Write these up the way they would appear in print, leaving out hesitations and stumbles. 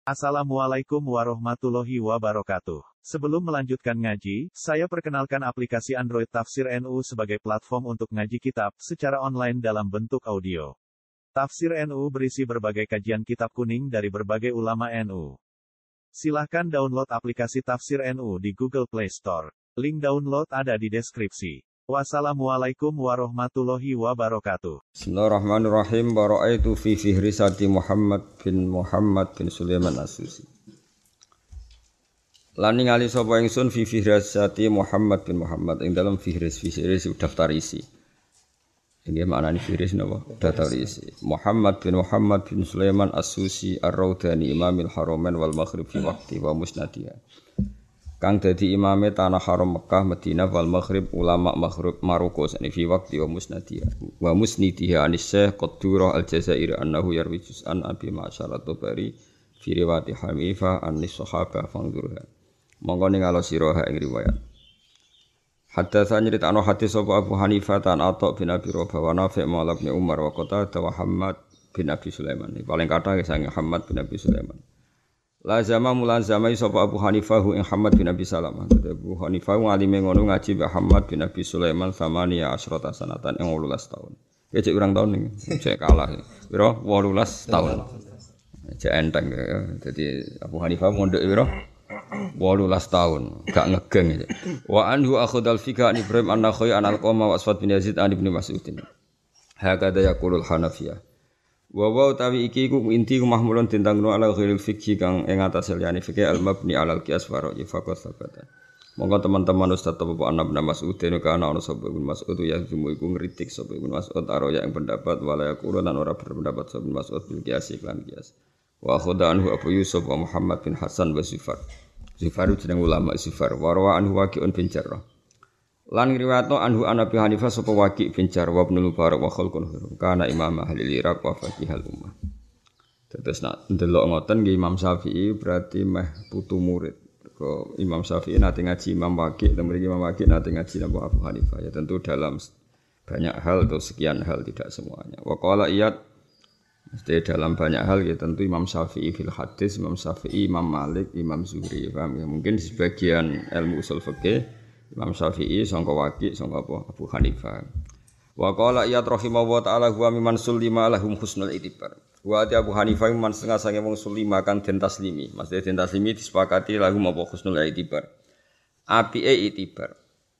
Assalamualaikum warahmatullahi wabarakatuh. Sebelum melanjutkan ngaji, saya perkenalkan aplikasi Android Tafsir NU sebagai platform untuk ngaji kitab secara online dalam bentuk audio. Tafsir NU berisi berbagai kajian kitab kuning dari berbagai ulama NU. Silahkan download aplikasi Tafsir NU di Google Play Store. Link download ada di deskripsi. Wassalamualaikum warahmatullahi wabarakatuh. Bismillahirrahmanirrahim. Bara'aitu fi fihrisati Muhammad bin Sulaiman As-Susi. Lan ningali sapa ingsun fi fihrisati Muhammad bin Muhammad ing dalam fihris daftar isi. Ini maknane fihris napa? Daftar isi. Muhammad bin Sulaiman As-Susi Ar-Raudani Imamil Haramain wal Maghrib fi waqti wa musnadiyah. Kang dadi imame tanah haram Mekah, Madinah wal Maghrib ulama Maghrib Maroko sani fi waqti wa musnidiyah anis Syekh Qaddurah Al-Jazairi annahu yarwi juz'an Abi Ma'syar at-Tabari fi riwayati Hanifa anis sahabah fangdurha. Monggo ningalo sira ing riwayat. Haddatsa nyritano hadis sapa Abu Hanifah tan Atha bin Abi Rabah wa Nafi' maula bin Umar wa Qatadah wa Muhammad bin Abi Sulaiman. Paling kathah sange Muhammad bin Abi Sulaiman. Lazama mulazamai sapa Abu Hanifah ing Muhammad bin Abi Salamah. Abu Hanifah ngalime ngono ngaji Mbah Muhammad bin Abi Sulaiman samania asyrata sanatan ing 18 tahun. Ya cek urang tahun iki, cek kalah. Pira 18 tahun. Cek enteng ya. Dadi Abu Hanifah mondok pira 18 tahun, gak ngegeng. Wa anhu akhudal fika an Ibrahim an-Nakhai an Al-Qama wa Aswad bin Yazid an Ibnu Mas'ud. Hakada yaqulul Hanafiyah. Wa utawi iki iku inti mahmulun tentang ala ghairil fikhi kang ing atas liyane fikih al-mabni alal qiyas wa ra'yi faqat sabata. Monggo teman-teman Ustaz Bapak Anak bin Mas'ud dene kana ana sapa Ibnu Mas'ud ya jumu iku ngritik sapa Ibnu Mas'ud araya ing pendapat wala yaqulu lan ora berpendapat sapa Ibnu Mas'ud bil qiyas iklan qiyas. Wa khudha anhu Abu Yusuf wa Muhammad bin Hasan wa Zufar. Zufar jeneng ulama Zufar wa rawa anhu Waqi'un bin Jarrah. Lan riwayatno anhu Abi Hanifah sapa Waqi' bin Jarrah wa Ibnu Mubarak wa khalqun kana imam ahli Iraq wa faqihal ummah. Terus nak ndelok ngoten nggih Imam Syafi'i berarti meh putu murid. Kok Imam Syafi'i nate ngaji Imam Waqi', mriki Imam Waqi' nate ngaji Abu Hanifah. Ya tentu dalam banyak hal atau sekian hal tidak semuanya. Wa qala iyad mesti dalam banyak hal ya tentu Imam Syafi'i fil hadis, Imam Syafi'i, Imam Malik, Imam Zuhri. Paham ya? Mungkin sebagian ilmu usul fikih Imam Syafi'i sangka Waqi' sangka Abu Hanifah. Wa qala iyad rahimahullah ta'ala huwa mimman sulima lahum husnul itibar. Wa Abu Hanifah man setengah sange wong sulima kang den taslimi. Maksudnya den taslimi disepakati lahum apa husnul itibar. Apike itibar.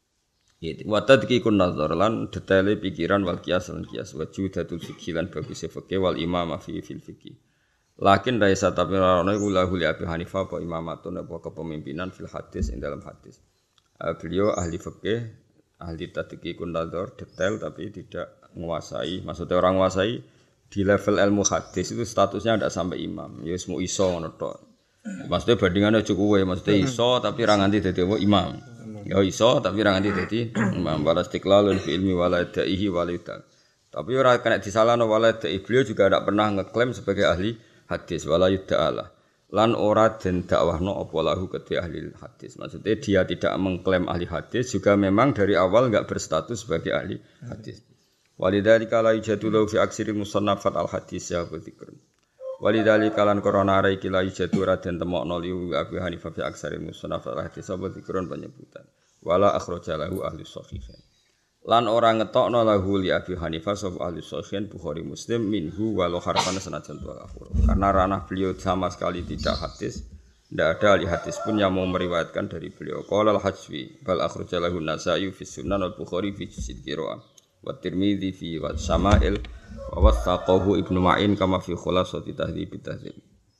Wa tadqiqun nazar lan detaile pikiran wal qiyas lan qiyas wa judatul fikih lan bagus fikih wal imamah fi fil fikih. Lakin raisa tapi ana iku lahu li Abi Hanifah apa imamatun apa kepemimpinan fil hadis ing dalam hadis. Beliau ahli fikih, ahli tadqiqun nazar, detail tapi tidak menguasai. Maksudnya orang menguasai di level ilmu hadis itu statusnya tidak sampai imam. Ya semua iso ngono tok. Maksudnya bandingannya cukup wae, maksudnya iso tapi ra nganti dadi imam. Ya iso tapi ra nganti dadi imam. Wala istiqlalun fi ilmi wala da'ihi walida. Tapi ora kena disalahno wala da'i. Beliau juga tidak pernah ngeklaim sebagai ahli hadis wala yuda'alah. Lan ora den dakwahno apa lahu kedhe ahli hadis. Maksudnya dia tidak mengklaim ahli hadis juga memang dari awal enggak berstatus sebagai ahli hadis. Walidzalika la yujadu fi aksiri musannafat al hadis ya dzikr. Walidzalika lan korona ara iki la yujadu ra den temokno li Abi Hanifah fi aksari musannafat al hadis apa dzikron penyebutan. Wala akhraja lahu ahli shahihain. Lan ora ngetokno lahu li Abi Hanifah sapa ahli shahihain Bukhari Muslim minhu walau harfan sanajan wa akhur. Karena ranah beliau sama sekali tidak hadis, tidak ada ahli hadis pun yang mau meriwayatkan dari beliau. Qala al-Hajwi bal akhraja lahu Nasa'i fi Sunan al-Bukhari fi Juz'il Qira'ah wa Tirmidzi fi wa Syama'il wa wathaqahu Ibnu Ma'in kama fi Khulasati Tahdhib at-Tahdzib.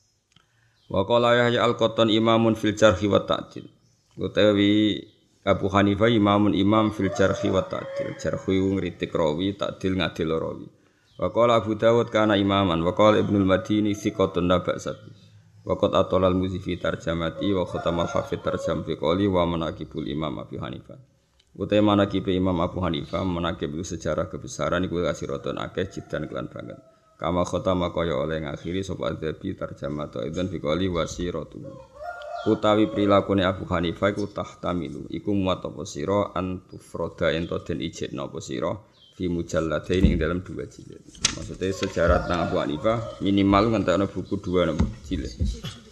Wa qala Yahya al-Qattan imamun fil jarhi wa ta'dil. Utawi Abu Hanifah imamun imam fil jarhi wa ta'dil. Jarhi ngritik rawi, ta'dil ngadil rawi. Wa qala Abu Dawud kana imaman wa qala Ibnul Madini thiqatun naba'sabi. Wa qad atala al-Muzifi tarjamati wa khatamal hafid tarjam fi qali wa manaqibul Imam Abu Hanifah. Utai manaqib Imam Abu Hanifah manaqib sejarah kebesaran iku kasiratun akeh jidan kelan banget. Kama khatama kaya oleh ngakhiri sapa Adzabi tarjamatu idzan fi qali wasiratu. Utawi prilakune Abu Hanifah iku tahtamilu iku muat apa sira antufroda ento den ijekno apa sira fi mujalladain ing dalam 2 jilid. Maksudnya sejarah tentang Abu Hanifah minimal ngentekno buku 2 jilid.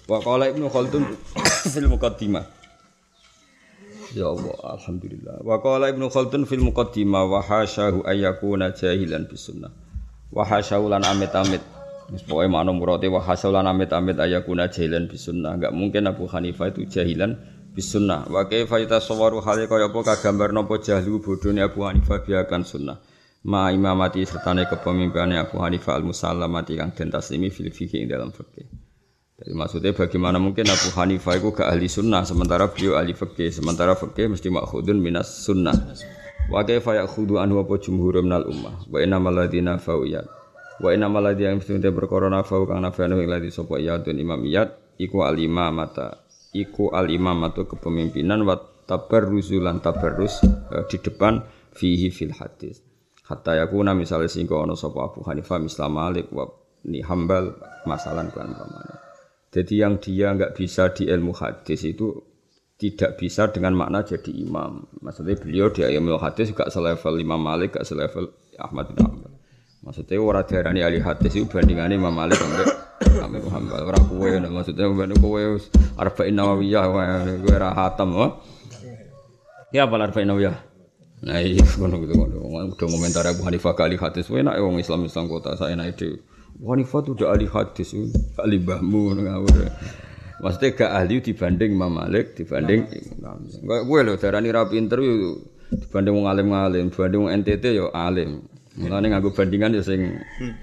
Wa qala Ibnu Khaldun fil muqaddimah. Ya Allah, alhamdulillah. Wa qala Ibnu Khaldun fil muqaddimah wa hasyahu ayyakuna jahilan bis sunnah. Wa hasyahu lan amit-amit. Wis pokoke makna murate wa hasyahu lan amit-amit ayyakuna jahilan bis sunnah. Enggak mungkin Abu Hanifah itu jahilan bis sunnah. Wa kaifa yatasawwaru hale kaya apa kagambar napa jahlu bodhone Abu Hanifah biakan sunnah. Ma imamati sertane kepemimpinane Abu Hanifah al-musallamati kang den taslimi fil fikih ing dalam fikih. Jadi maksudnya bagaimana mungkin Abu Hanifah itu gak ahli sunnah sementara beliau ahli fikih, sementara fikih mesti makhudun minas sunnah. Wa kaifa ya'khudhu anhu apa jumhur minal ummah wa innamal ladzina fa'iyat wa innamal ladzina mesti berkorona fa'u kang nafanu ing ladzi sapa iyadun imamiyat iku al-imamatu kepemimpinan wa tabarruzulan tabarrus di depan fihi fil hadis. Hatta yakuna misalnya sehingga ana sapa Abu Hanifah misal Malik wa ni Hambal masalan kan pamane. Jadi yang dia enggak bisa di ilmu hadis itu tidak bisa dengan makna jadi imam. Maksudnya beliau di ilmu hadis juga selevel Imam Malik, gak selevel Ahmad bin Hanbal. Maksudnya ora diarani ahli hadis itu bandingane Imam Malik sampai Ahmad bin Hanbal. Ora kowe maksudnya ben kowe Arba'in Nawawiyah kowe ora hatam wae. Ya apa Arba'in Nawawiyah? Nah iya ngono udah komentar Abu Hanifah ke ahli hadis enak wong Islam kota saya enak itu. Abu Hanifah itu udah ahli hadis gak ahli mbahmu ngawur. Maksudnya gak ahli dibanding Imam Malik dibanding Imam. Kowe lho darani ra pinter yo dibanding wong alim-alim, dibanding wong NTT yo alim. Mulane nganggo bandingan yo sing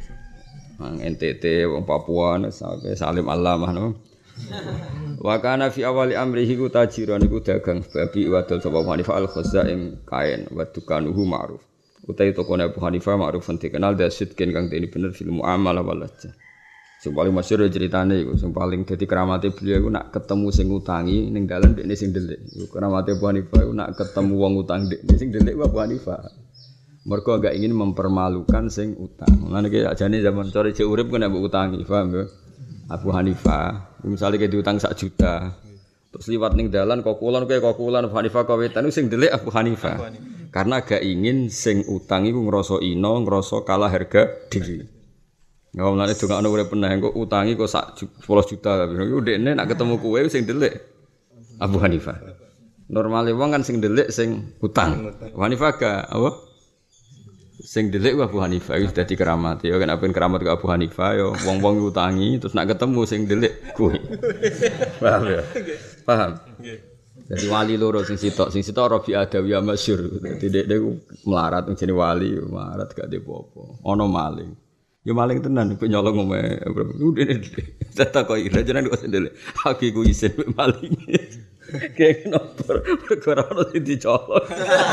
NTT wong Papua sampai Salim Allamah no. Wa kana fi awali amrihi ku tajiran iku dagang babi wadol sapa Hanifah al-Khazza ing kain wa dukanuhu ma'ruf. Utai tokone Abu Hanifah ma'ruf dikenal dasid ken kang dene bener fil muamalah walajah. Sing paling masyhur ceritane iku sing paling dadi keramate beliau iku nak ketemu sing utangi ning dalan dekne sing ndelik. Iku keramate Abu Hanifah iku nak ketemu wong utang dekne sing ndelik Abu Hanifah. Mergo agak ingin mempermalukan sing utang. Mulane ki ajane zaman sore cek urip kena mbok utangi, paham ya? Abu Hanifah, misalnya kayak diutang 1 juta, terus liwat ning dalan kokulan Abu Hanifah kawetan sing ndelik Abu Hanifah. Karena gak ingin sing utang iku ngrasa ino, ngrasa kalah harga diri. Ngomongane dongakno urip peneh kok utangi kok 10 juta. Iku dekne nak ketemu kowe sing ndelik Abu Hanifah. Normale wong kan sing ndelik sing utang. Abu Hanifah gak apa? Sing ndelik Abu Hanifah itu dadi keramat. Ya kan apen keramat ke Abu Hanifah ya wong-wong utangi terus nak ketemu sing ndelik kowe. Paham ya? Paham. Jadi wali loro sing sitok Rabi Adawiyah masyhur. Dadi dekne melarat jenenge wali, melarat gak de apa-apa. Ana maling. Ya maling tenan kok nyolong omae. Udene. Takoki ra jenenge kok sendele. Aku iku isin maling. Kayak nomor perkara ono sing dicolong.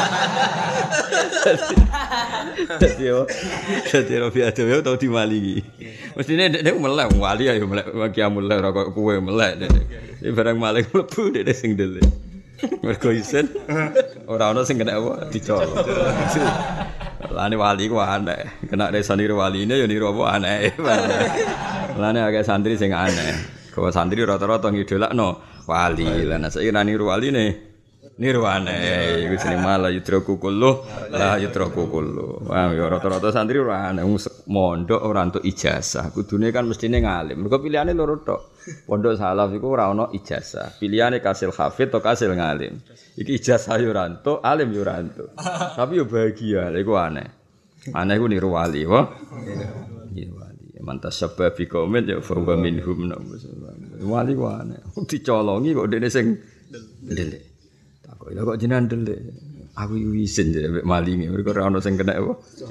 Jadi Rabi Adawiyah tau dimalingi. Mestine nek melek wali ayo melek kiamul ora kok kowe melek. Barang maling mlebu nek sing ndelik. Mergo isin ora ono sing kena apa dicolong. Lane wali ku aneh. Kena desa niru waline ya niru apa aneh. Lane agak santri sing aneh. Kau santri rata-rata ngidolakno wali. Lah nek saiki niru waline niru aneh. Iku jeneng malah yudraku kullu la yudraku kullu. Wah ya rata-rata santri ora aneh mondok ora entuk ijazah. Kudune kan mestine ngalim. Mergo pilihane loro tok. Pondok salaf iku ora ono ijazah. Pilihane kasil hafid atau kasil ngalim. Iki ijazah yo ora entuk, alim yo ora entuk. Tapi yo bahagia, lha iku aneh. Aneh iku niru wali, wa. Iya wali. Mantas sebab bi komen ya fa wa minhum. Wali ku aneh. Dicolongi kok dene sing ndelik. Takok lha kok jenengan ndelik. Aku isin jare mek malinge. Mergo ora ono sing kena apa.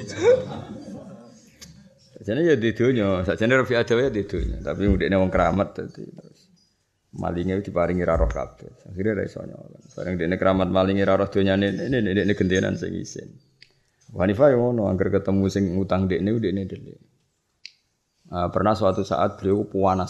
Sajane ya di donya, sajane Rabi Adawiyah di donya, tapi ndekne wong keramat dadi terus malinge diparingi ra roh kabeh. Akhire ra iso nyolong. Bareng ndekne keramat malinge ra roh donyane ndekne gendenan sing isin. Hanifah yo ngono, angger ketemu sing ngutang ndekne ndelik. Pernah suatu saat beliau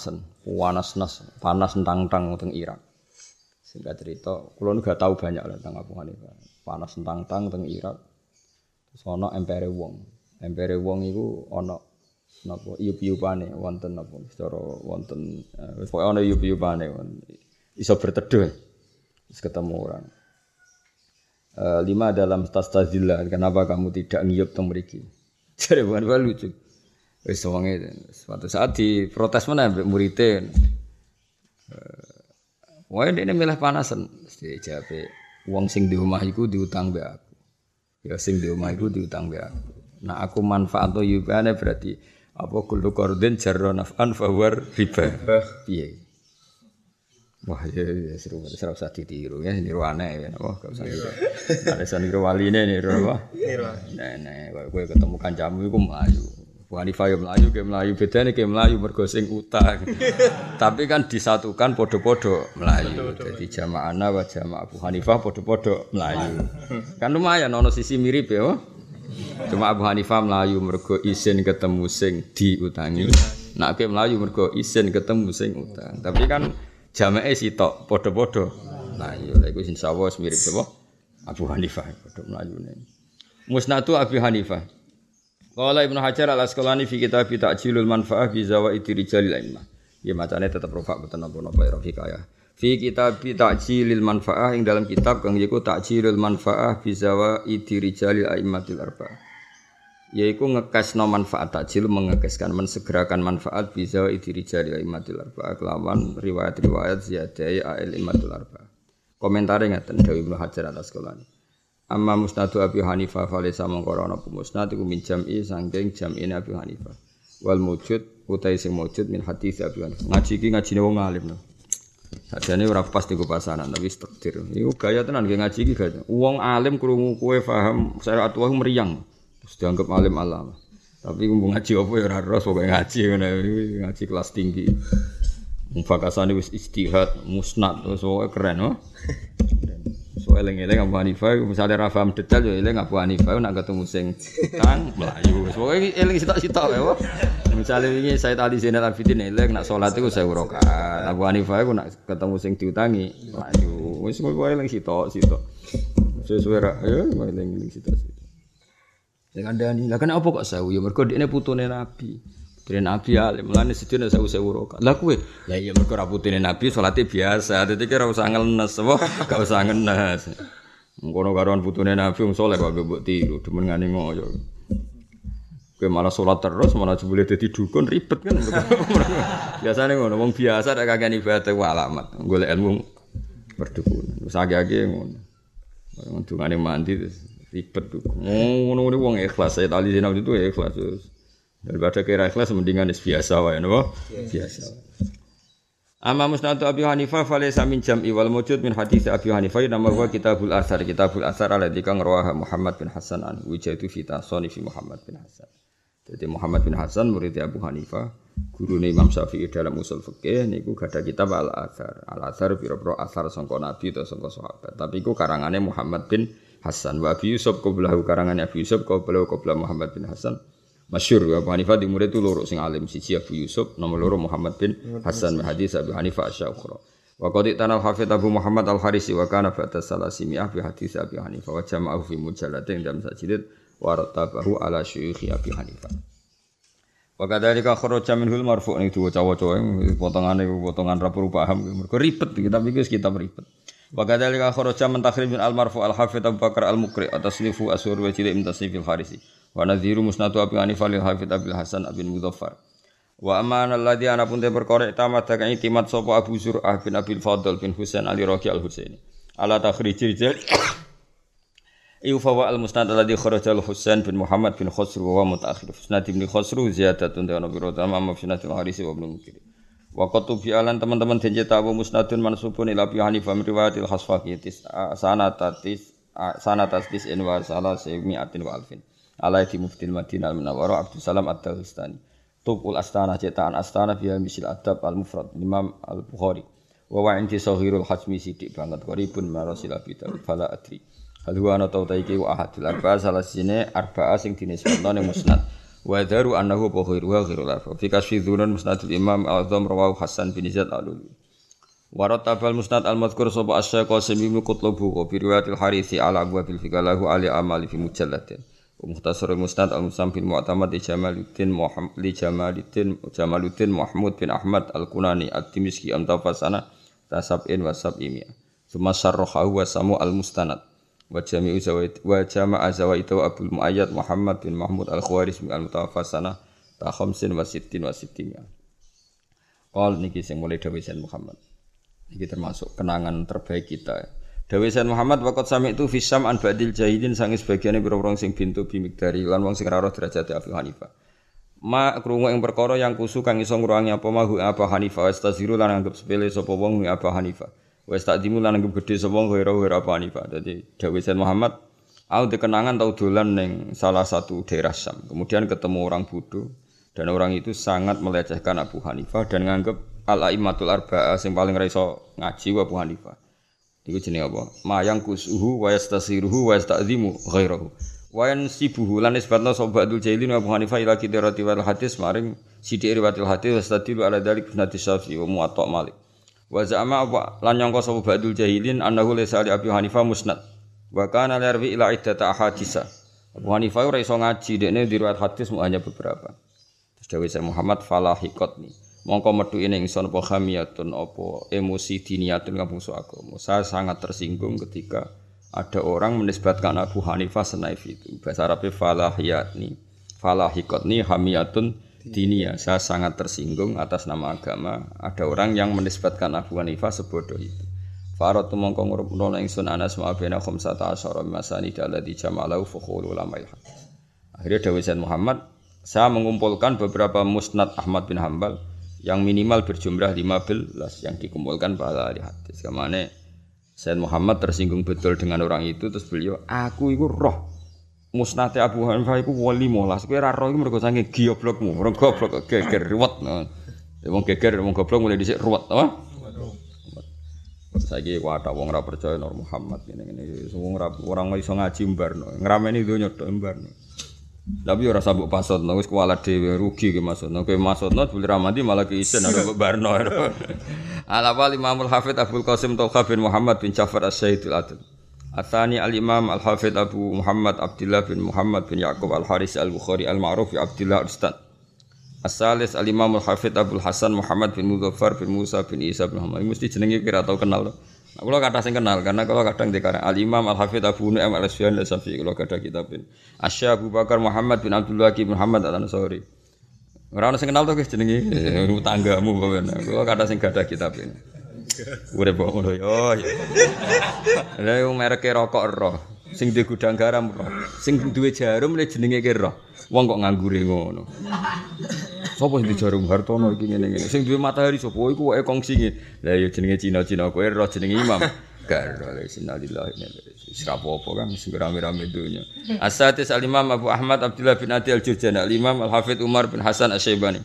panas tentang teng Irak. Singkat cerita, kula nu gak tahu banyak lah tentang Abu Hanifah. Panas tentang teng Irak. Terus ana empere wong. Empere wong iku ana napa iup-iupane wonten napa secara wonten pokoke ana iup-iupane iso berteduh. Terus ketemu orang. 5 dalam tastazillah, kenapa kamu tidak ngiyup teng mriki? Jare Hanifah lucu. Wis wonge suatu saat diprotes meneh mbek muridé. Wae dene milih panasan, mesti jape wong sing di omah iku diutang mbek aku. Ya sing di omah iku diutang mbek aku. Nah aku manfaat yubane berarti apa kullu qardin jarra naf'an fa war riba. Piye? Wah ya seru usah ditiru ya niru aneh ya. Wah gak usah niru. Ada niru waline niru apa? Niru. Nah, kowe ketemu kancamu iku mlayu. Bukan Hanifah melayu, kayak melayu bedanya kayak melayu bergosing utang. Tapi kan disatukan podo-podo melayu. Jadi jamaahna wa jamaah Abu Hanifah podo-podo melayu. Kan lumayan ono sisi mirip ya. Cuma Abu Hanifah melayu mergo isin ketemu sing diutangi. Nak kayak melayu mergo isin ketemu sing utang. Tapi kan jamaah sitok podo-podo melayu. Lha iku insyaallah mirip apa? Abu Hanifah podo melayune. Musnadu Abu Hanifah. Qala Ibnu Hajar Al-Asqalani fi kitab Ta'jilul Manfaah bi Zawaidi Rijalil A'immah. Ya macane tetep rofa mboten napa-napa ya fikaya. Fi kitab Ta'jilil Manfaah ing dalam kitab kang yaiku Ta'jilul Manfaah bi Zawaidi Rijalil A'immatil Arba'ah. Yaiku ngekesno manfaat ta'jil mengekeskan mensegerakan manfaat bi Zawaidi Rijalil A'immatil Arba'ah kelawan riwayat-riwayat ziyadai A'immatil Arba'ah. Komentare ngaten dawuh Ibnu Hajar Al-Asqalani. Amma musnadu Abi Hanifah falesa mongkoro ana musnad iku min jam'i saking jam'ine Abi Hanifah. Wal mujud utai sing mujud min hadis Abi Hanifah. Ngaji iki ngajine wong alim. Sajane ora pas digo pasanan tapi takdir. Iku gaya tenan nggih ngaji iki gaya. Wong alim krungu kowe paham syariat wae meriang. Terus dianggap alim alam. Tapi kumpul ngaji apa ya ora ros pokoke ngaji ngene ngaji kelas tinggi. Mufakasane wis ijtihad musnad wis keren oh. So eling-eling Abu Hanifah misale ra paham detail yo eling Abu Hanifah nak ketemu sing utang melayu. Pokoke eling sitok-sitok wae. Misale wingi Said Ali Zainal Abidin eling nak salat iku 1000 rakaat. Abu Hanifah iku nak ketemu sing diutangi melayu. Wis kowe eling sitok-sitok. Sesuai ra yo eling sitok-sitok. Sing kandhani, lha kan apa kok 1000 ya mergo dekne putune Nabi. Putune Nabi alim, mulane sedina 1000 rakaat. Lah kowe, ya iya mergo ra putune Nabi salate biasa, dadi kira usah ngenes apa, gak usah ngenes. Ngono karoan putune Nabi wong saleh kok mbok tiru, demen ngene ngoyo. Kowe malah salat terus, malah jebule dadi dukun ribet kan. Biasane ngono, wong biasa nek kagek ibadah ku alamat, golek ilmu perdukunan. Wis agak-agak ngono. Wong dungane mandi terus ribet dukun. Ngono-ngono wong ikhlas, saya tali sinau itu ikhlas terus. Daripada kira ikhlas mendingan biasa wae napa? Biasa. Amma musnad Abi Hanifah falaysa min jam'i wal mujud min hadits Abi Hanifah nama wa Kitabul Athar. Kitabul Athar alladzi kang rawaha Muhammad bin Hasan an wujadu fi tasanifi Muhammad bin Hasan. Jadi Muhammad bin Hasan murid Abu Hanifah, gurune Imam Syafi'i dalam usul fikih niku gadah kitab Al Athar. Al Athar pira-pira athar sangka Nabi utawa sangka sahabat. Tapi iku karangane Muhammad bin Hasan. Wa Abi Yusuf qablahu karangane Abi Yusuf qabla Muhammad bin Hasan. Masyhur Abu Hanifah di murid itu loro sing alim siji Abu Yusuf nomor loro Muhammad bin Hasan hadis Abu Hanifah asy-Syukhra wa qad tanal hafidz Abu Muhammad Al-Harisi wa kana fa'ta salasimiah bi hadis Abu Hanifah wa jama'ahu fi mujallatin dalam sajilid wa rattabahu ala syuyukh Abu Hanifah wa kadzalika kharaja minhul marfu' niku waca-waca potongan ra perlu paham mergo ribet kitab iki kitab ribet wa kadzalika kharaja min takhrij al-marfu' al-hafidz Abu Bakar al-Muqri atasnifu asur wa jilid min tasnifil Harisi wa nadhiru musnadu Abi Hanifah lil Hafidz Abil Hasan bin Mudzaffar wa amana alladhi ana pun te perkara tamat kang itimat sapa Abu Zur'ah bin Abil Fadl bin Husain Ali Raqi al-Husaini ala takhrijil Iufawa al-Musnad alladhi kharaja al-Husain bin Muhammad bin Khosru wa mutaakhir Musnad bin Khosru ziyadatun ta'ala bi rodama Musnad al-Harisi wa ibn Mukir wa qatubi alan teman-teman denje tawu musnadun mansubun ila Abi Hanifah min riwayatil Khasfaqi sanatatis wa salasimi'atin wa alfin alai di muftil Madinah al-Munawwarah Abdul Salam Ad-Dagestani Tubul Astana cetakan Astana biha misil adab al-Mufrad Imam al-Bukhari wa wa inti sahirul hajmi sidik banget qaribun marasil abidal fala adri hal huwa ana tautaiki wa ahadul arba'a salasine arba'a sing dinisbatno ning musnad wa daru annahu bukhari wa ghirul arba'a fi kasfi dzunun musnadul Imam al-Azam rawahu Hasan bin Zaid al-Lulu wa ratabal musnad al-madhkur sapa asy-Syaikh Qasim bin Qutlubu wa bi riwayatil Harisi ala abwabil fikalahu ali amali fi mujalladin Mukhtasarul Musnad al-Musam bin Mu'tamad li Jamaluddin Mahmud bin Ahmad al-Kunani at-Timishki amtafasana tasab'in wa sab'imiyah Suma syarrahahu wa samu al-Mustanad wa jami'u zawaid wa jama'a zawaidu Abdul Mu'ayyad Muhammad bin Mahmud al-Khawarizmi al-mutafasana ta khamsin wa sittin wa sittimiyah Qal niki sing mulai dawuh Muhammad Ini termasuk kenangan terbaik kita. Dawe Sayyid Muhammad waqat sami itu fisam an ba'dil jahilin sange sebagiane pira-pira sing bintu bimikdari lan wong sing ora roh derajate Abu Hanifah. Ma krungu ing perkara yang kusu kang iso ngruwangi apa mahu Abu Hanifah wastaziru lan anggap sepele sapa wong Abu Hanifah. Wis takdimu lan anggap gedhe sapa wong ora Abu Hanifah. Dadi Dawe Sayyid Muhammad aku dikenangan tau dolan ning salah satu daerah Syam. Kemudian ketemu orang bodoh dan orang itu sangat melecehkan Abu Hanifah dan nganggep al-aimmatul arba'ah sing paling ra iso ngaji Abu Hanifah. Iku jenenge apa? Mayang kusuhu wa yastasiruhu wa yasta'zimu ghairahu. Wa yansibuhu lan isbatna sahabatul jahilin Abu Hanifah ila kidrati wal hadis maring sithik riwayatil hadis wastadilu ala dzalik sunati Syafi'i wa Muwatta Malik. Wa za'ama lan nyangka sahabatul jahilin annahu laysa li Abi Hanifah musnad. Wa kana yarwi ila iddata ahadisa. Abu Hanifah ora iso ngaji dekne di riwayat hadis mu hanya beberapa. Terus dawuh Syekh Muhammad falahiqatni. Mongko metu ing ingsun apa khamiyatun apa emosi diniyatun kabungsu agama. Saya sangat tersinggung ketika ada orang menisbatkan Abu Hanifah senaif itu. Bahasa Arabnya falahiqatni hamiyatun diniyah. Saya sangat tersinggung atas nama agama. Ada orang yang menisbatkan Abu Hanifah sebodoh itu. Faratu mongko ngurupno ingsun anas ma'abena khamsata asyara masani dalati jama'alahu fukhul ulama ilhaq. Akhirnya dawuh Sayyid Muhammad, saya mengumpulkan beberapa musnad Ahmad bin Hanbal yang minimal berjumlah 15 yang dikumpulkan pada ahli hadis. Kemana Sayyid Muhammad tersinggung betul dengan orang itu, terus beliau, aku itu roh musnad Abu Hanifah itu wali molas. Kowe ra roh iku mergo saking goblokmu, orang goblok geger ruwet. Wong geger wong goblok mulai dhisik ruwet, apa? Saiki wadah wong ora percaya Nur Muhammad ngene-ngene. Wong ora iso ngaji mbarno, ngrameni donya tok mbarno. Tapi ora sabuk pasotno wis kuwalat dhewe rugi ki maksudno. Kowe maksudno boleh ramadi malah ki isen ada barno. Al-awwal Imamul Hafidz Abdul Qasim Tauha bin Muhammad bin Ja'far As-Sayyidul Adil. Atsani Al-Imam Al-Hafidz Abu Muhammad Abdullah bin Muhammad bin Yaqub Al-Haris Al-Bukhari Al-Ma'ruf bi Abdullah Ustad. As-salis Al-Imam Al-Hafidz Abdul Hasan Muhammad bin Mudzaffar bin Musa bin Isa bin Muhammad. Mesti jenenge kira tau kenal. Nah, kalau kata sing kenal karena kalau kadang dikarang Al-Imam Al-Hafidz Abu Nu'aim Al-Asfiyan Al-Safi kalau kada kitabin. Asy Abu Bakar Muhammad bin Abdullah bin Muhammad Al-Ansari. Ora ono sing kenal to guys jenenge tanggamu pokoknya. Kalau kada sing kada kitabin. Urip kok ngono yo. Lah yo mereke rokok roh. Sing duwe gudang garam roh. Sing duwe jarum le jenenge ki roh. Wong kok nganggure ngono. Sopo sing jarum Hartono iki ngene-ngene. Sing duwe matahari sapa iku wae kongsi. Lah ya jenenge Cina-Cina kowe roh jenenge Imam. Garo sinalillah ini. Wis apa kan sing rame-rame dunya. As-satis Al-Imam Abu Ahmad Abdullah bin Adi Al-Jurjani, Al-Imam Al-Hafidz Umar bin Hasan Asy-Syaibani.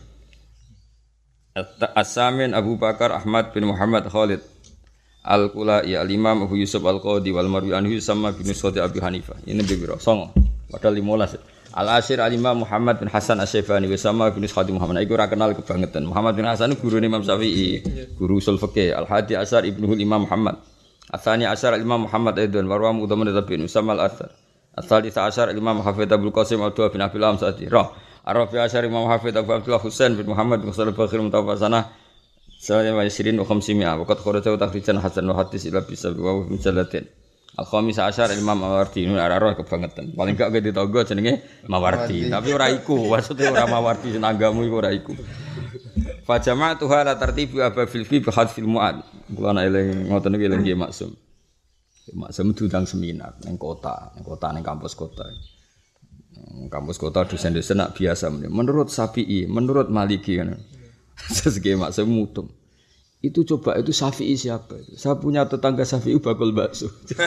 As-Samin Abu Bakar Ahmad bin Muhammad Khalid Al-Qulai, Al-Imam Abu Yusuf Al-Qadi wal Marwi anhu sama bin Sa'd Abi Hanifah. Ini biro songo. Padahal 15. Al-Ashir Al-Imam Muhammad bin Hasan Asy-Syaibani sama bin Khadi Muhammad. Iku ora kenal kebangetan. Muhammad bin Hasan guru Imam Syafi'i, guru usul fikih. Al-Hadi Asyar Ibnu Imam Muhammad. Atsani Asyar Imam Muhammad Aidon warwa Mudhaman Tabi'in sama Al-Athar. Ats-tsalits Asyar Imam Hafidz Abdul Qasim Abdullah bin Abil Amsati. Arafi Asyar Imam Hafidz Abu Abdullah Husain bin Muhammad bin Shalih Bakhir Mutawaffanah. Sallallahu alaihi wa sallam waqad kharaja takhrijan hasan wa hadis ila bisa wa mujallatin. Al-Khamis Asyar Imam Mawardi nu arah kebangetan. Paling gak ke ditangga jenenge Mawardi, tapi ora iku. Maksude ora Mawardi senanggamu iku ora iku. Fa jama'atu hala tartibi ababil fi bi hadfil mu'ad. Kula nek eling ngoten iki eling nggih maksum. Maksum diundang seminar ning kota ning kampus kota. Kampus kota dosen-dosen nak biasa menurut Syafi'i, menurut Maliki kan. Sesge maksum mutung. Itu coba itu Syafi'i siapa itu? Saya punya tetangga Syafi'i bakul bakso.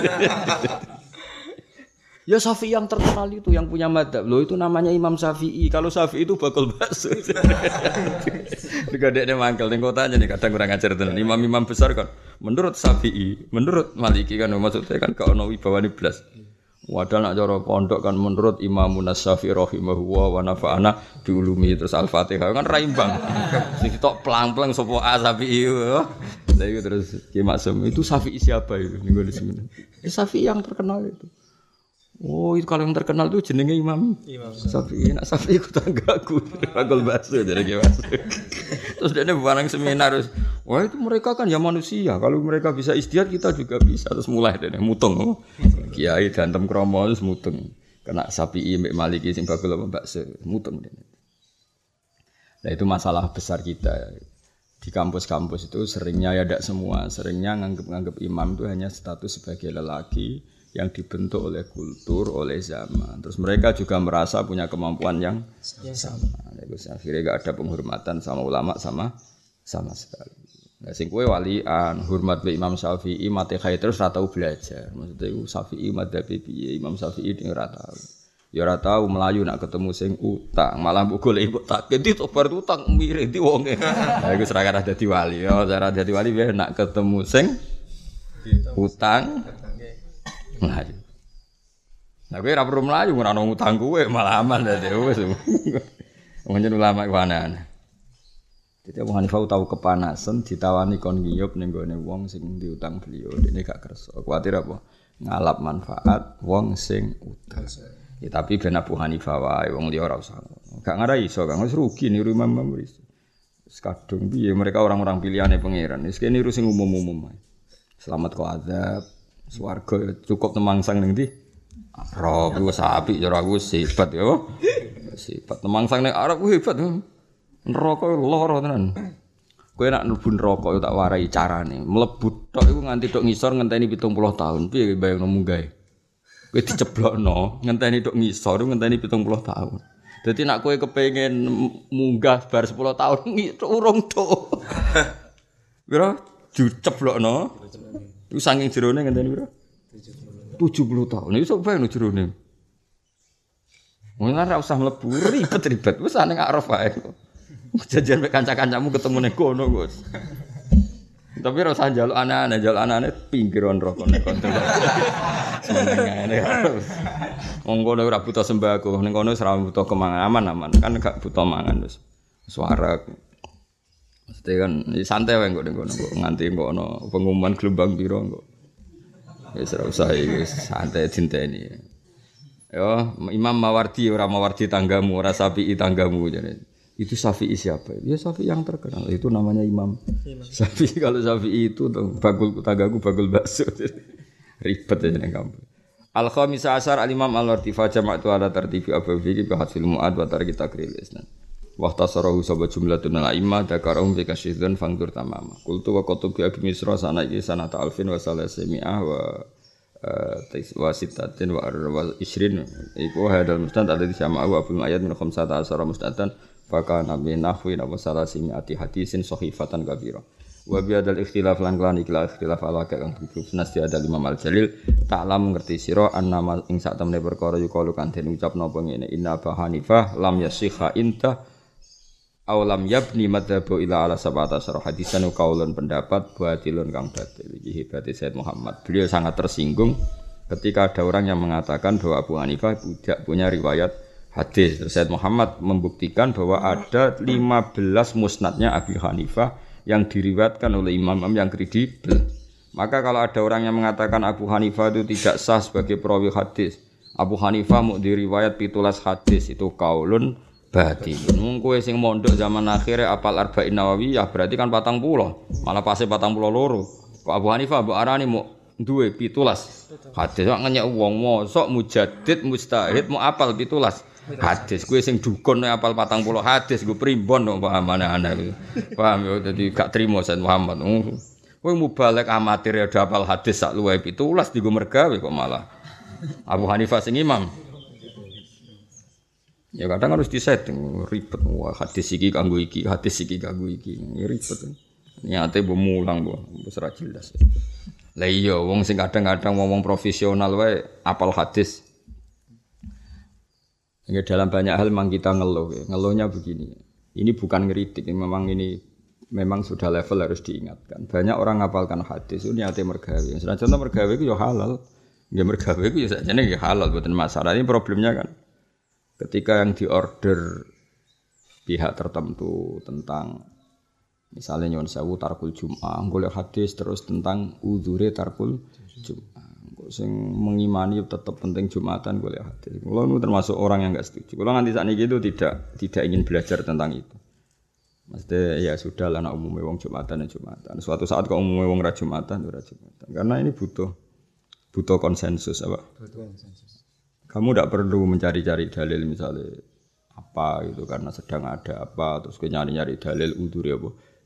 Ya Syafi'i yang terkenal itu yang punya madzhab. Loh itu namanya Imam Syafi'i. Kalau Syafi'i itu bakul bakso. Digadekne mangkel ning kotanya nih kadang kurang ajar tenan. Imam-imam besar kan menurut Syafi'i, menurut Maliki kan maksudnya kan gak ono wibawane blas. Wadah nak cara pondok kan menurut Imamun Asy-Syafi'i rahimahullah wa nafa'ana bi ulumi terus Al-Fatihah kan raimbang. Sing tok plang-plang sapa Syafi'i. Lah itu terus Ki Maksum itu Syafi'i siapa itu ning ngene sini. Syafi'i yang terkenal itu. Oh, itu kalau yang terkenal itu jenenge Imam Syafi'i. Nak Syafi'i ku tanggaku. Bakul bakso jadi Ki Maksum. Terus dia barang seminar terus, wah itu mereka kan ya manusia. Kalau mereka bisa ijtihad kita juga bisa. Terus mulai dia mutung. Kiai dantem kromo terus mutung. Kena Syafi'i mbek Maliki sing bakul bakso mutung. Nah itu masalah besar kita. di kampus-kampus itu seringnya ya tidak semua, seringnya nganggep imam itu hanya status sebagai lelaki yang dibentuk oleh kultur, oleh zaman. Terus mereka juga merasa punya kemampuan yang sama. Terus akhirnya gak ada penghormatan sama ulama sama sekali. Nah, sing kowe walian, hormat be Imam Syafi'i, mate khair terus ora tau belajar. Maksudnya iku Syafi'i madzhab piye, Imam Syafi'i ding ora tau. Ya ora tau melayu nak ketemu sing utang, malah mbok golek mbok tak ganti to bar utang mirip di wonge. Lah iku ora kada dadi wali. Ya cara dadi wali piye nak ketemu sing utang. Melayu. Nah kowe ora perlu melayu ora ono utang kowe malah aman dadi wis. Wong ulama iku aneh. Jadi Abu Hanifah tahu kepanasan ditawani kon ngiyup ning gone wong sing diutang beliau. Dene gak kersa. Kuwatir apa? Ngalap manfaat wong sing utang. Ya tapi ben Abu Hanifah wae wong liya ora usah. Gak ngarai iso, Kang wis rugi niru Imam Malik. Wis kadung piye mereka orang-orang pilihane pangeran. Wis kene niru sing umum-umum ae. Selamat kok azab, swarga cukup temangsang ning ndi? Arab wis apik cara aku hebat ya. Sifat temangsang ning Arab ku hebat. Neraka lara tenan. Kowe nek mlebu neraka tak warai carane. Mlebu tok iku nganti tok ngisor ngenteni 70 tahun. Piye bayangno munggah. Kowe diceblokno ngenteni tok ngisor ngenteni 70 tahun. Dadi nek kowe kepengin munggah bar 10 tahun urung tok. Pira diceblokno. Iku saking jerone ngenteni pira? 70 tahun. Iso bayangno jerone. Mun ora usah mlebu ribet-ribet. Wis ning arep wae. Jajan mek kanca-kancamu ketemu ning kono, Gus. Tapi ora usah njaluk aneh-aneh pinggiran rokok nek kontrol. Senengane. Wong kono ora butuh sembako, ning kono ora butuh kemangan aman-aman, kan gak butuh mangan wis. Suara. Mesti kan santai wae kok ning kono, nganti kok ono pengumuman gelombang piro kok. Wis ora usah iki santai dinteni. Yo, Imam Mawardi ora Mawardi tanggamu, ora Syafi'i tanggamu jane. Itu Syafi'i siapa? Ya Syafi'i yang terkenal. Itu namanya Imam Syafi'i. Kalau Syafi'i itu bagul tanggaku bagul bakso. Ribet aja ning kampung. Al-Khamisa Asyar Al-Imam Al-Wartifa jama'atu ala tartibi Abu Fikri bi hadfil mu'ad wa tariki takril isnan. Wa tasarahu sabab jumlatun al-a'immah dakarahum fi kasyidun fangdur tamama. Qultu wa qatubi Abi Misra sanaki sanata alfin wa salasimi'ah wa sitatin wa isrin. Iku hadal mustad alladhi sama'ahu Abul Ma'yad min khamsata asyara mustatan Faka nabi nahwi nabi salasimi ati hadisin sohifatan kabira. Wabiadal ikhtilaf lan ikhtilaf ala kang tujuh nasti ada Imam Al-Jalil taklam ngerti sira annama ing sak temene perkara yukalu kan den ucapno ngene inna Abu Hanifah lam yasikha inta aw lam yabni madhabu ila ala sabata sarah hadisan kaulun pendapat batilun kang batil iki hebate Said Muhammad. Beliau sangat tersinggung ketika ada orang yang mengatakan bahwa Abu Hanifah tidak punya riwayat hadis. Said Muhammad membuktikan bahwa ada 15 musnadnya Abi Hanifah yang diriwayatkan oleh imam-imam yang kredibel. Maka kalau ada orang yang mengatakan Abu Hanifah itu tidak sah sebagai perawi hadis, Abu Hanifah mau diriwayat 17 hadis, itu kaulun batil. Wong kowe sing mondok zaman akhir apal Arba'in Nawawiyah berarti kan 40, malah pase 42. Kok Abu Hanifah mbok arani mau duwe 17 hadis kok ngenyek wong mosok mujaddid mustahid mau apal 17 hadis. Kowe sing dukun apal 40 hadis gue primbon kok pahamane aneh. Paham ya dadi gak trimo Said Muhammad. Kowe mubalek amatir ya apal hadis sak luwih 17 digo mergawe kok malah Abu Hanifah sing imam. Ya kadang harus disetting ribet. Wah hadis iki kanggo iki, hadis iki kanggo iki. Ya ribet. Niate mbok mulang kok wis ora jelas. Lah iya wong sing kadang-kadang ngomong profesional wae apal hadis. Ya, dalam banyak hal memang kita ngeluh. Ngeluhnya begini. Ini bukan ngeritik, memang sudah level harus diingatkan. Banyak orang ngapalkan hadis itu niate mergawe. Senajan contoh mergawe itu ya halal. Ya mergawe itu ya sajane ya halal bukan masalah. Ini problemnya kan ketika yang diorder pihak tertentu tentang misalnya nyuwun sewu tarkul Jum'ah, golek hadis terus tentang udzure tarkul Jum'ah. Sing mengimani tetap penting Jumatan golek hadis. Kulo nu termasuk orang yang enggak setuju. Kulo nganti sakniki itu tidak ingin belajar tentang itu. Maksudnya ya sudah lah anak umumnya wong Jumatan ya Jumatan. Suatu saat kok umumnya wong ra Jumatan ora Jumatan. Karena ini butuh konsensus apa? Butuh konsensus. Kamu tidak perlu mencari-cari dalil misalnya apa gitu karena sedang ada apa terus nyari-nyari dalil udzure apa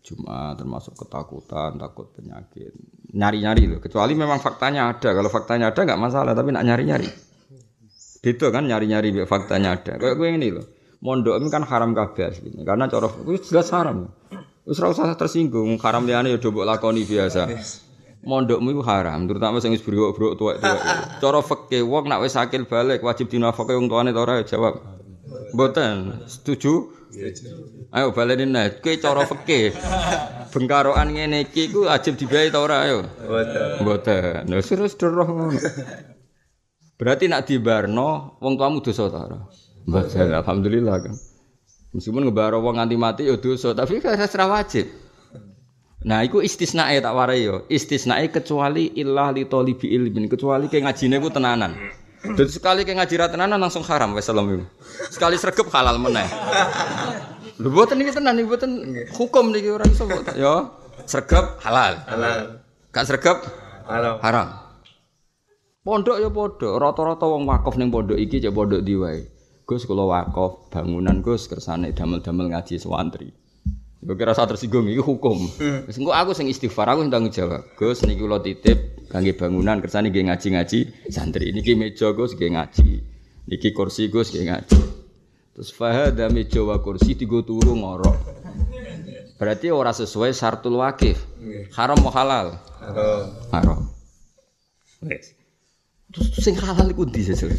Jumat termasuk ketakutan, takut penyakit. Nyari-nyari loh, kecuali memang faktanya ada. Kalau faktanya ada enggak masalah, tapi nak nyari-nyari. Gitu kan nyari-nyari faktanya ada. Kayak gue ini loh. Mondok ini kan haram kabeh asline. Karena cara wis jelas haram. Wis ora usah tersinggung, haram liyane ya mbok lakoni biasa. Mondokmu iku haram, terutama sing wis brok-brok tuwek-tuwek. Cara fikih wong nek wis akil balik wajib dinafkahi wong tuane ta ora jawab. Mboten, setuju? Ayo baleni nek kowe cara fikih. Bengkarokan ngene iki ku wajib dibayar ta ora ayo? Mboten. Lha terus roh ngono. Berarti nak dibarno wong tuamu dosa ta ora? Mboten, alhamdulillah kan. Meskipun ngebaro wong nganti mati ya dosa, tapi kan ora wajib. Nah, iku istisnae tak warai yo. Istisnae kecuali illah li talibi ilmin, kecuali ke ngajine ku tenanan. Dan sekali ke ngaji ra tenanan langsung haram wis salam iku. Sekali sregep halal meneh. Lho mboten iki tenan iki mboten hukum niki ora iso kok. Yo, sregep halal. Halal. Gak sregep haram. Pondok ya padha, rata-rata wong wakaf ning pondok iki cek pondok ndi wae. Gus kula wakaf bangunan Gus kersane damel-damel ngaji santri. Gue kira saat tersinggung itu hukum. Wis engko aku sing istighfar, aku sing tanggung jawab. Gus niki kula titip kangge bangunan kersane nggih ngaji-ngaji santri. Niki meja Gus nggih ngaji. Niki kursi Gus nggih ngaji. Terus fahada meja wa kursi digo turu ngorok. Berarti ora sesuai syartul wakif. Haram mau halal? Haram. Wes. Terus sing halal iku ndi sesuk?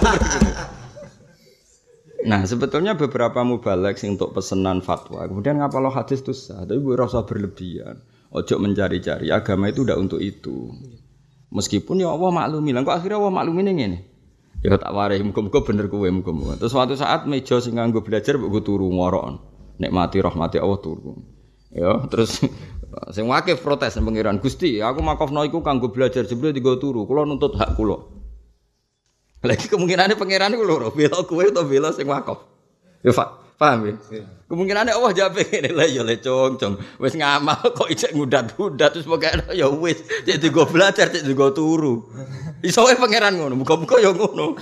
Nah, sebetulnya beberapa mubalek sing untuk pesanan fatwa. Kemudian ngapalo hadis itu sah, tapi ora usah berlebihan. Ojo mencari-cari, agama itu ndak untuk itu. Meskipun ya Allah maklumi, lah kok akhirnya Allah maklumi ngene. Ya tak warai, muga-muga bener kowe muga-muga. Terus suatu saat meja sing nganggo belajar mbok turu ngorok. Nikmati rahmati Allah turu. Ya, terus sing wakif protes nang pengiran, Gusti, aku makofno iku kanggo belajar jebule digo turu. Kula nuntut hak kula. Lagi kemungkinannya pangeran itu lho, bela kowe atau bela sing wakaf. Ya paham ya? Kemungkinannya Allah jawab ngene lha ya le cong. Wis ngamal kok ijek ngudat-ngudat terus pokoke ya wis, cek digo belajar, cek digo turu. Iso wae pangeran ngono, muga-muga ya ngono.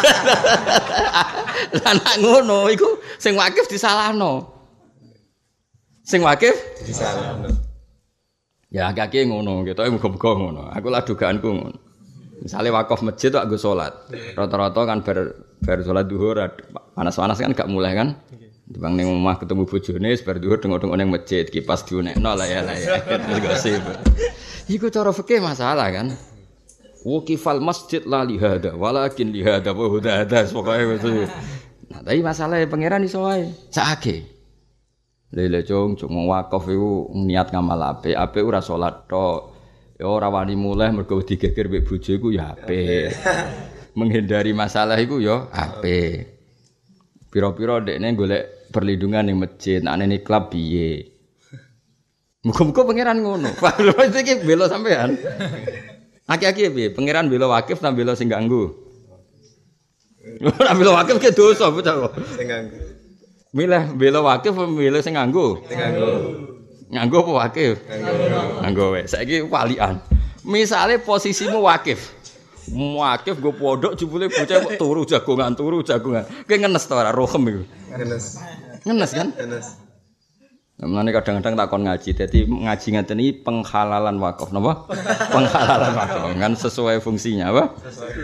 Lah nek ngono iku sing wakif disalahno. Sing wakif disalahno. Ya agak-agak ngono, ketoke muga-muga ngono. Aku lah dugaanku ngono. Misalnya wakaf masjid tuh aku sholat, rata-rata kan ber sholat duhur, panas-panas kan gak mulai kan, bang neng rumah ketemu bojone, ber duhur tengok-tengok neng masjid, kipas diunekno lah ya, terus gosip. Iku cara fikih masalah kan, wukifal masjid la lihada, walakin lihada wa hudada, pokoknya gitu. Nah tapi masalahnya pangeran iso wae, sakake. Lele cung wakaf itu niat ngamal ape ora sholat tok. Ya ora wani mulih mergo digeger mbek bojo iku ya apik. Menghindari masalah iku ya apik. Pira-pira dekne golek perlindungan ning masjid, nek ning klub piye. Muga-muga pangeran ngono. Pak iki bela sampean. Aki-aki piye? Pangeran bela wakif ta bela sing ganggu? Ora bela wakif ke dosa bocah kok. Sing ganggu. Milih bela wakif apa milih sing ganggu? Sing ganggu. Nganggo apa wakif? Nganggo wae. Saiki walian. Misale posisimu wakif. Wakif nggo pondok jebule bocah kok turu jagongan. Ki ngenes ta ora rohem iku. Ngenes kan? Ngenes. Mulane kadang-kadang takon ngaji. Dadi ngaji ngeten iki penghalalan wakaf napa? Penghalalan wakaf kan sesuai fungsinya apa?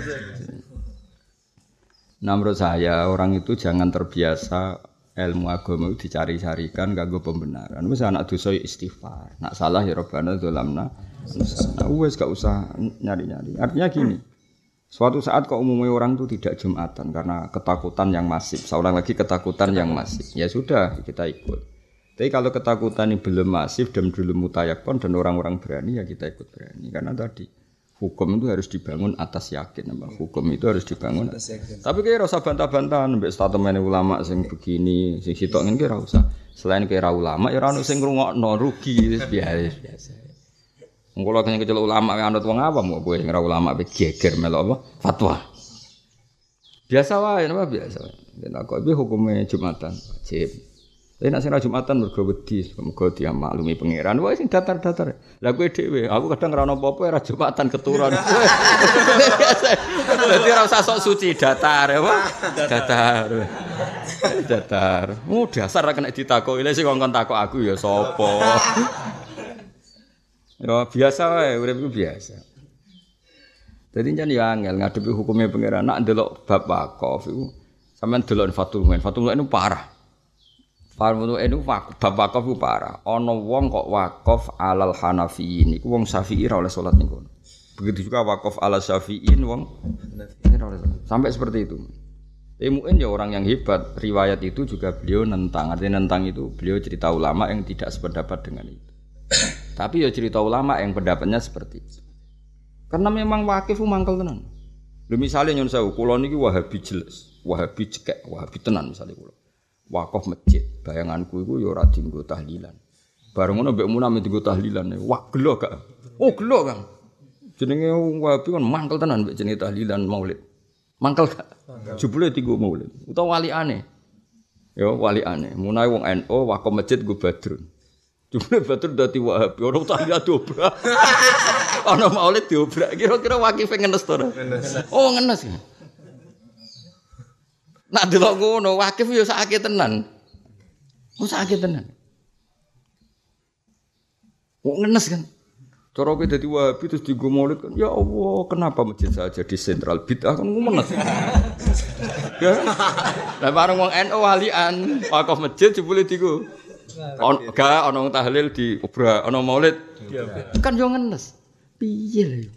Nah menurut saya orang itu jangan terbiasa ilmu agama itu dicari-carikan kanggo pembenaran. Wis anak dosa istighfar. Nak salah ya Rabbana dzalamna. Wis gak usah nyari-nyari. Artinya gini. Suatu saat kok umumnya orang itu tidak Jumatan karena ketakutan yang masif. Seorang lagi ketakutan yang masif. Ya sudah, kita ikut. Tapi kalau ketakutan ini belum masif dan belum mutayakon dan orang-orang berani ya kita ikut berani. Karena tadi hukum itu harus dibangun atas yakin, hukum itu harus dibangun atas yakin. Tapi kayak rasa bantah-bantahan, mbek statement ulama sing begini, sing sitok ngene ora usah. Selain kayak ulama, ya ora ono sing ngrungokno rugi biasa. Wong kula kecil ulama anut wong awam kok kowe ora ulama pe geger melok apa? Fatwa. Biasa wae, napa biasa wae. Nek kok iki hukume Jumatan wajib. Tapi nek sing Jumatan mergo wedi, mergo dia maklumi pangeran. Wae sing datar-datar. Lah kowe dhewe, aku kadang ora ono apa-apa ora Jumatan keturunan. Dadi ora usah sok suci, datar apa? Datar. Datar. Dasar ra kena ditakoki. Lha sing ngongkon takok aku ya sapa? Ya biasa wae, urip iku biasa. Dadi jan ya angel ngadepi hukume pangeran. Nak ndelok bab wakaf iku sampean delok Fathul Muin. Fathul Muin itu parah. Fathul Muin itu bab wakaf itu parah. Ana wong kok wakaf alal Hanafiyin iku wong Syafi'i ora oleh salat niku. Begitu juga wakaf ala Syafi'in wong sampai seperti itu. Muin ya orang yang hebat. Riwayat itu juga beliau nentang. Artinya nentang itu beliau cerita ulama yang tidak sependapat dengan itu. Tapi ya cerita ulama yang pendapatnya seperti itu. Karena memang wakif mangkel tenan. Lha misale nyun sewu kula niki Wahabi jelas, Wahabi cekek, Wahabi tenan misale kula. Wakaf masjid, bayanganku iku ya ora dienggo tahlilan. Bareng ngono mbek munam dienggo tahlilan. Wah gelo gak? Oh gelo Kang. Jenenge Wahabi kan mangkel tenan mbek jenenge tahlilan Maulid. Mangkel gak? Jebule dienggo Maulid. Utawa waliane. Ya waliane. Munae wong NU wakaf masjid nggo Badrun. Jumlah batur dadi Wahabi, orang tahlilan dobrak. Ana Maulid diobrak. Kira-kira wakif ngenes to ora? Oh, ngenes. Nak delok ngono, wakif ya sakake tenan. Oh, sakake tenan. Oh, ngenes kan. Cara kowe dadi Wahabi terus dienggo Maulid kan. Ya Allah, kenapa masjid saja di sentral bid'ah kan ngenes. Ya. Lah bareng wong NU walian, wakaf masjid jebule dienggo gak ana tahlil di obrak ana maulid kan yo ngenes piye lho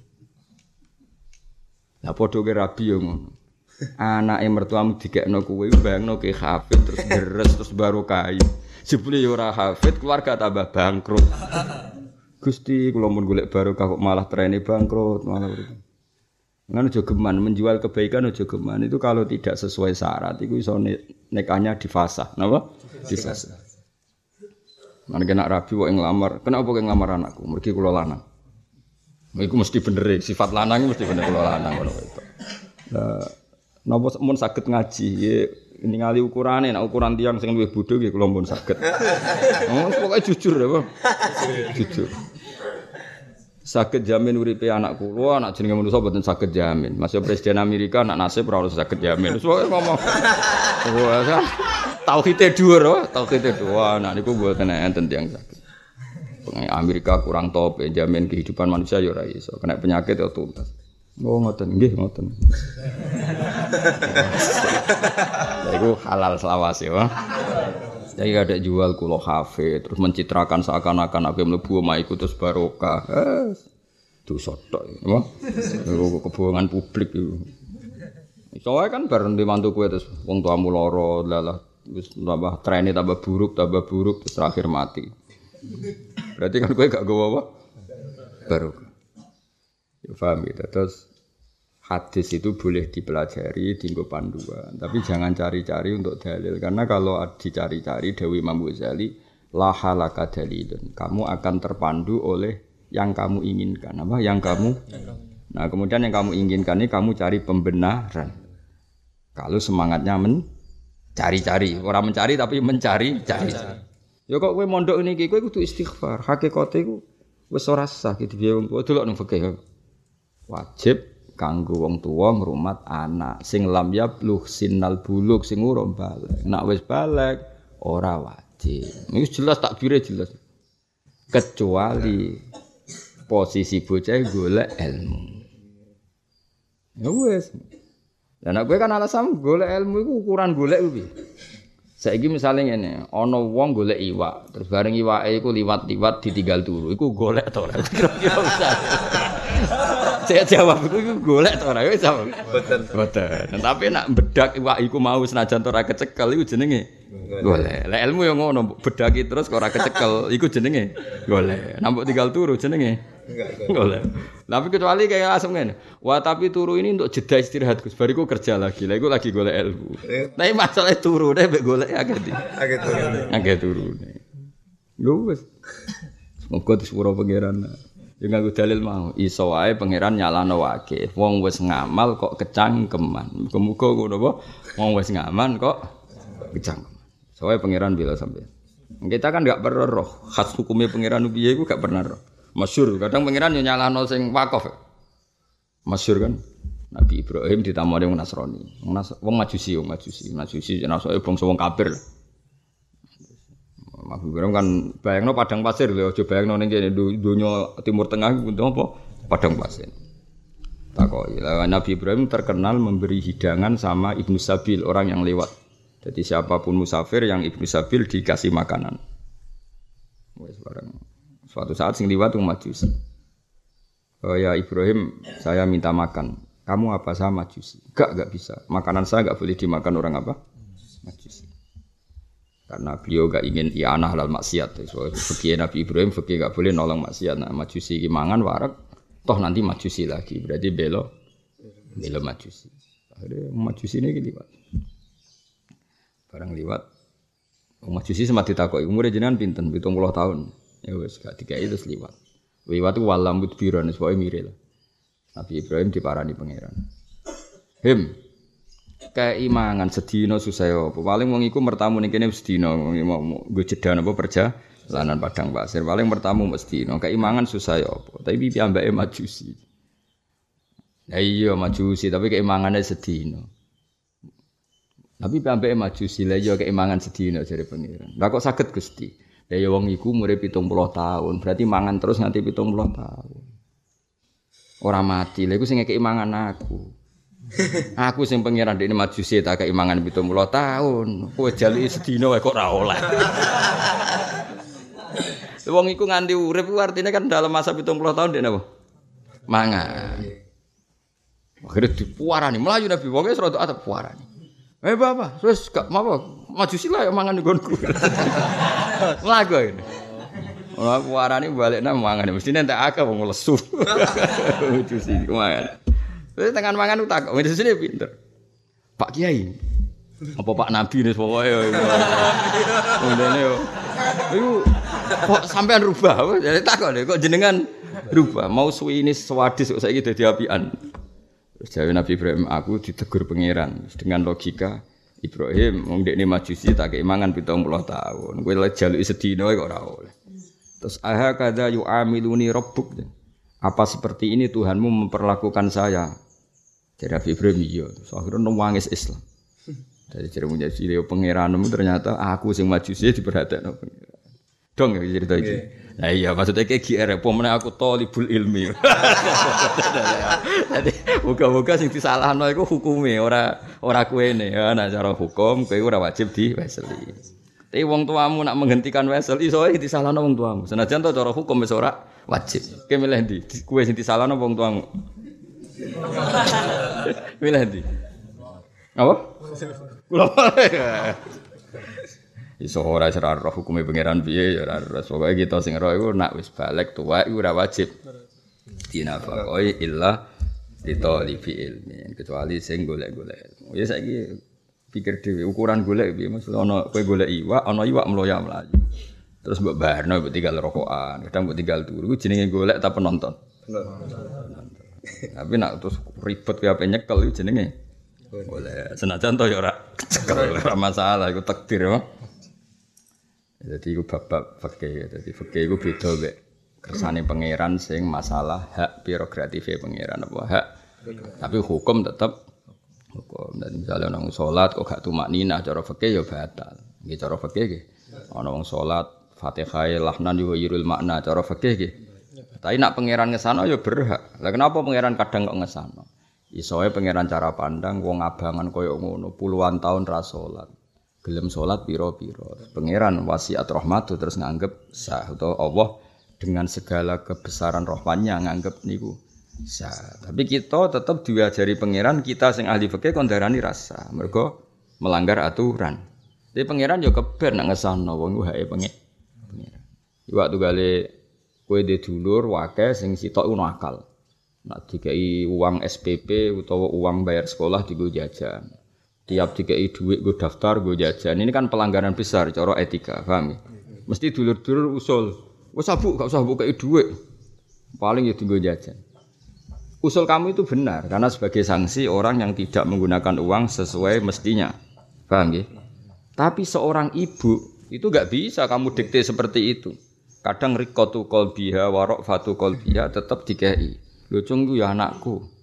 lah padha ke rabi yo ngono anake mertuamu dikekno kowe bayangno ke hafid terus deres terus barokah jebule yo ora hafid keluarga tambah bangkrut Gusti kula mun golek barokah kok malah trene bangkrut malah ngono aja geman menjual kebaikan aja geman itu kalau tidak sesuai syarat iku iso nekahnya difasah napa difasah. Mana kena rabi kok ngelamar, kenapa kok ngelamar anakku? Mergi kula lanang. Iku mesti bener sifat lanang mesti bener kula lanang ngono itu. Lah napa mun saged ngaji ningali ukurane, nek ukuran tiyang sing luwih bodho nggih kula mun saged. Pokoke jujur ya, Pak. Jujur. Saged jamin uripe anak kula, anak jenenge manusa mboten saged jamin. Masih presiden Amerika anak nasib ora saged jamin. Wis pokoke ngomong. Wah, tauhide dhuwur, tauhide dhuwur. Nah niku mboten enten tiyang saged. Amerika kurang top jamin kehidupan manusia ya ora iso. Kena penyakit ya tuntas. Oh ngoten nggih ngoten. Ya iku halal selawase ya. Jadi ada jual kulo kafe terus mencitrakan seakan-akan aku mlebu omah iku terus barokah. Itu sotok ya. Iku kebohongan publik itu. Soale kan bareng di mantu kowe terus wong tuamu lara lalah wis tambah trene tambah buruk terus terakhir mati. Berarti kan kowe gak gowo apa? Barokah. Ya paham gitu. Terus hadis itu boleh dipelajari, dienggo panduan, tapi jangan cari-cari untuk dalil karena kalau dicari-cari Dewi Imam Ghazali la halaka dalilun. Kamu akan terpandu oleh yang kamu inginkan. Apa? Yang kamu. Nah, kemudian yang kamu inginkan ini kamu cari pembenaran. Kalau semangatnya mencari-cari, orang mencari tapi mencari-cari. Ya kok kowe mondok niki kowe kudu istighfar. Hakikate iku wis ora sah gitu piye wong tuwa delok nang fikih. Wajib kanggo wong tuwa ngrumat anak sing lam yablugh sinnal bulugh sing urung baligh. Nek wis baligh ora wajib. Iki jelas takbire jelas. Kecuali posisi bocah golek ilmu. Ya wis. Lah nek kowe kan alasan golek ilmu iku ukuran golek kuwi. Saiki misale ngene, ana wong golek iwak, terus bareng iwake iku liwat-liwat ditinggal turu. Iku golek to ora? Kira-kira bisa. Saya jawab iku golek to ora? Wis jawab. Boten. Tapi nek bedak iwak iku mau senajan ora kecekel iku jenenge golek. Lah ilmu yo ngono, bedaki terus kok ora kecekel iku jenenge golek. Nampuk tinggal turu jenenge golek. Tapi kecuali kayak langsung ngene. Wah, tapi turu ini untuk jeda istirahat Gus. Bariku kerja lagi. Lah iku lagi golek ilmu. Tapi masalah turu nek mbek golek agak turu. Yo wis. Semoga disepuro pangeran. Ya nganggo dalil mau iso wae pangeran nyalano wae. Wong wis ngamal kok kecangkeman. Muga-muga ngono apa? Wong wis ngaman kok kecangkeman. Soale pangeran bila sampeyan. Kita kan enggak pernah roh khas hukumnya pangeran piye iku gak pernah roh. Masyhur kadang pangeran yo nyalano sing wakaf. Masyhur kan. Nabi Ibrahim ditamoni wong Nasrani. Wong Majusi jenenge bangsa wong kafir. Nabi Ibrahim kan bayangno padang pasir lho, aja bayangno ning kene donya Timur Tengah iku apa? Padang pasir. Takoki. Nabi Ibrahim terkenal memberi hidangan sama Ibnu Sabil, orang yang lewat. Jadi siapapun musafir yang Ibnu Sabil dikasih makanan. Wes bareng. Suatu saat sing liwat wong Majusi. Oh ya Ibrahim, saya minta makan. Kamu apa saya Majusi? Enggak bisa. Makanan saya enggak boleh dimakan orang apa? Majusi. Karena beliau enggak ingin i'anah halal maksiat. So, fikih Nabi Ibrahim fikih enggak boleh nolong maksiat. Nah, Majusi iki mangan warak, toh nanti Majusi lagi. Berarti belo Majusi. Akhirnya Majusi ini liwat. Barang liwat. Majusi sempat ditakoki, umure jenengan pinten? 70 tahun. Ya wis gak dikai terus liwat. Liwat ku walam mudbiran wis pokoke mire lah. Nabi Ibrahim diparani pangeran. Keimangan sedina susah apa? Paling wong iku mertamu ning kene sedina nggo jeda napa perjalanan padang pasir. Paling mertamu mesti dina. Keimangan susah apa? Tapi piyambake Majusi. Ya iya Majusi, tapi keimangane sedina. Tapi piyambake Majusi lha iya keimangan sedina jare pangeran. Lah kok saged Gusti? Lah ya wong iku umure 70 tahun, berarti mangan terus nganti 70 tahun. Ora mati, lha iku sing ngekeki mangan aku. Aku sing pangeran dekne Majusi tak kei mangan 70 tahun. Kowe jaluki sedina wae kok ora oleh. Wong iku nganti urip ku artine kan dalam masa 70 tahun dekne apa? Mangan. Akhire dipuarani, mlayu Nabi wong wis rada atep puarani. Bapak, terus gak apa Majusi lah yang mangan nggonku. Mlaku ini. Ora puarani balekna mangan mestine entek akeh wong lesu. Majusi mangan. Wis tekan mangan utak, wis sini pinter. Pak Kiai. Apa Pak Nabi nih pokoke yo. Ngene yo. Iku kok sampean rubah? Jadi takok lho kok jenengan rubah. Mau suwi ini sewadis kok saiki dadi apian. Terus jawab Nabi Ibrahim, aku ditegur pangeran dengan logika Ibrahim, wong dekne Majusi tak kei mangan 70 tahun. Kowe lek jaluki sedina kok ora oleh. Terus aha kadza yu'amiluni rabbuk. Apa seperti ini Tuhanmu memperlakukan saya? Jadi Nabi Ibrahim iya, terus akhirnya nangis Islam. Dari cerita jadi Leo pangeranmu ternyata aku sing Majusi diperhatekno pangeran. Dong ya cerita iki. Nah iya maksudnya kayak GR apa meneh aku thalibul ilmi. Jadi muga-muga sing disalahno iku hukume ora kuwene ya nek cara hukum kowe ora wajib diweseli. Tapi wong tuamu nak menghentikan wesel iso ae disalahno wong tuamu. Senajan to cara hukum wis ora wajib. Kowe milih ndi? Kowe sing disalahno wong tuamu. Milih ndi? Apa? Kula iso ora roh hukume pangeran piye ya ora ros. Pokoke kita sing roh iku nak wis balik tuwa iku ora wajib dinafaqoi illa ditolibi ilmi kecuali sing golek-golek. Ya saiki pikir dhewe ukuran golek piye Mas ana kowe golek iwak ana iwak mloya mlayu. Terus mbok barno mbok tinggal rokokan, kadang mbok tinggal turu iku jenenge golek ta penonton. Tapi nak terus ribet kowe ape nyekel iku jenenge golek. Senajan to ya ora cekel ora masalah iku takdir ya. Jadi iku bab fikih. Jadi fikih iku beda mek kersane pangeran sing masalah hak prerogatif pangeran apa hak. Tapi hukum tetap hukum. Dan misalnya ana wong salat kok gak tumakninah cara fikih ya batal. Nggih cara fikih nggih. Ana wong salat Fatihah lahnan yuhirul makna cara fikih nggih. Tapi nak pangeran ngesano ya berhak. Lah kenapa pangeran kadang kok ngesano? Isoe pangeran cara pandang wong abangan koyo ngono puluhan tahun ra salat. Gelem salat pira-pira. Pangeran wasiat rahmatu terus nganggep sah utawa Allah dengan segala kebesaran rahmannya nganggep niku sah. Tapi kita tetap diajari pangeran kita sing ahli fikih kon darani rasa. Mergo melanggar aturan. Tapi pangeran yo keben nak ngesano wong hake pangeran. Iwak tugale kowe dhe dulur wakeh sing sitok ngono akal. Nak dikei uang SPP utawa uang bayar sekolah digo jajan. Tiap dikei duit gue daftar gue jajan. Ini kan pelanggaran besar cara etika, paham ya? Mesti dulur-dulur usul. Wes sabuk gak usah kei duit. Paling ya digo jajan. Usul kamu itu benar karena sebagai sanksi orang yang tidak menggunakan uang sesuai mestinya. Paham ya? Tapi seorang ibu itu enggak bisa kamu dikte seperti itu. Kadang riqatu qalbiha wa raqfatu qalbiha tetap dikei. Lho cung ku ya anakku.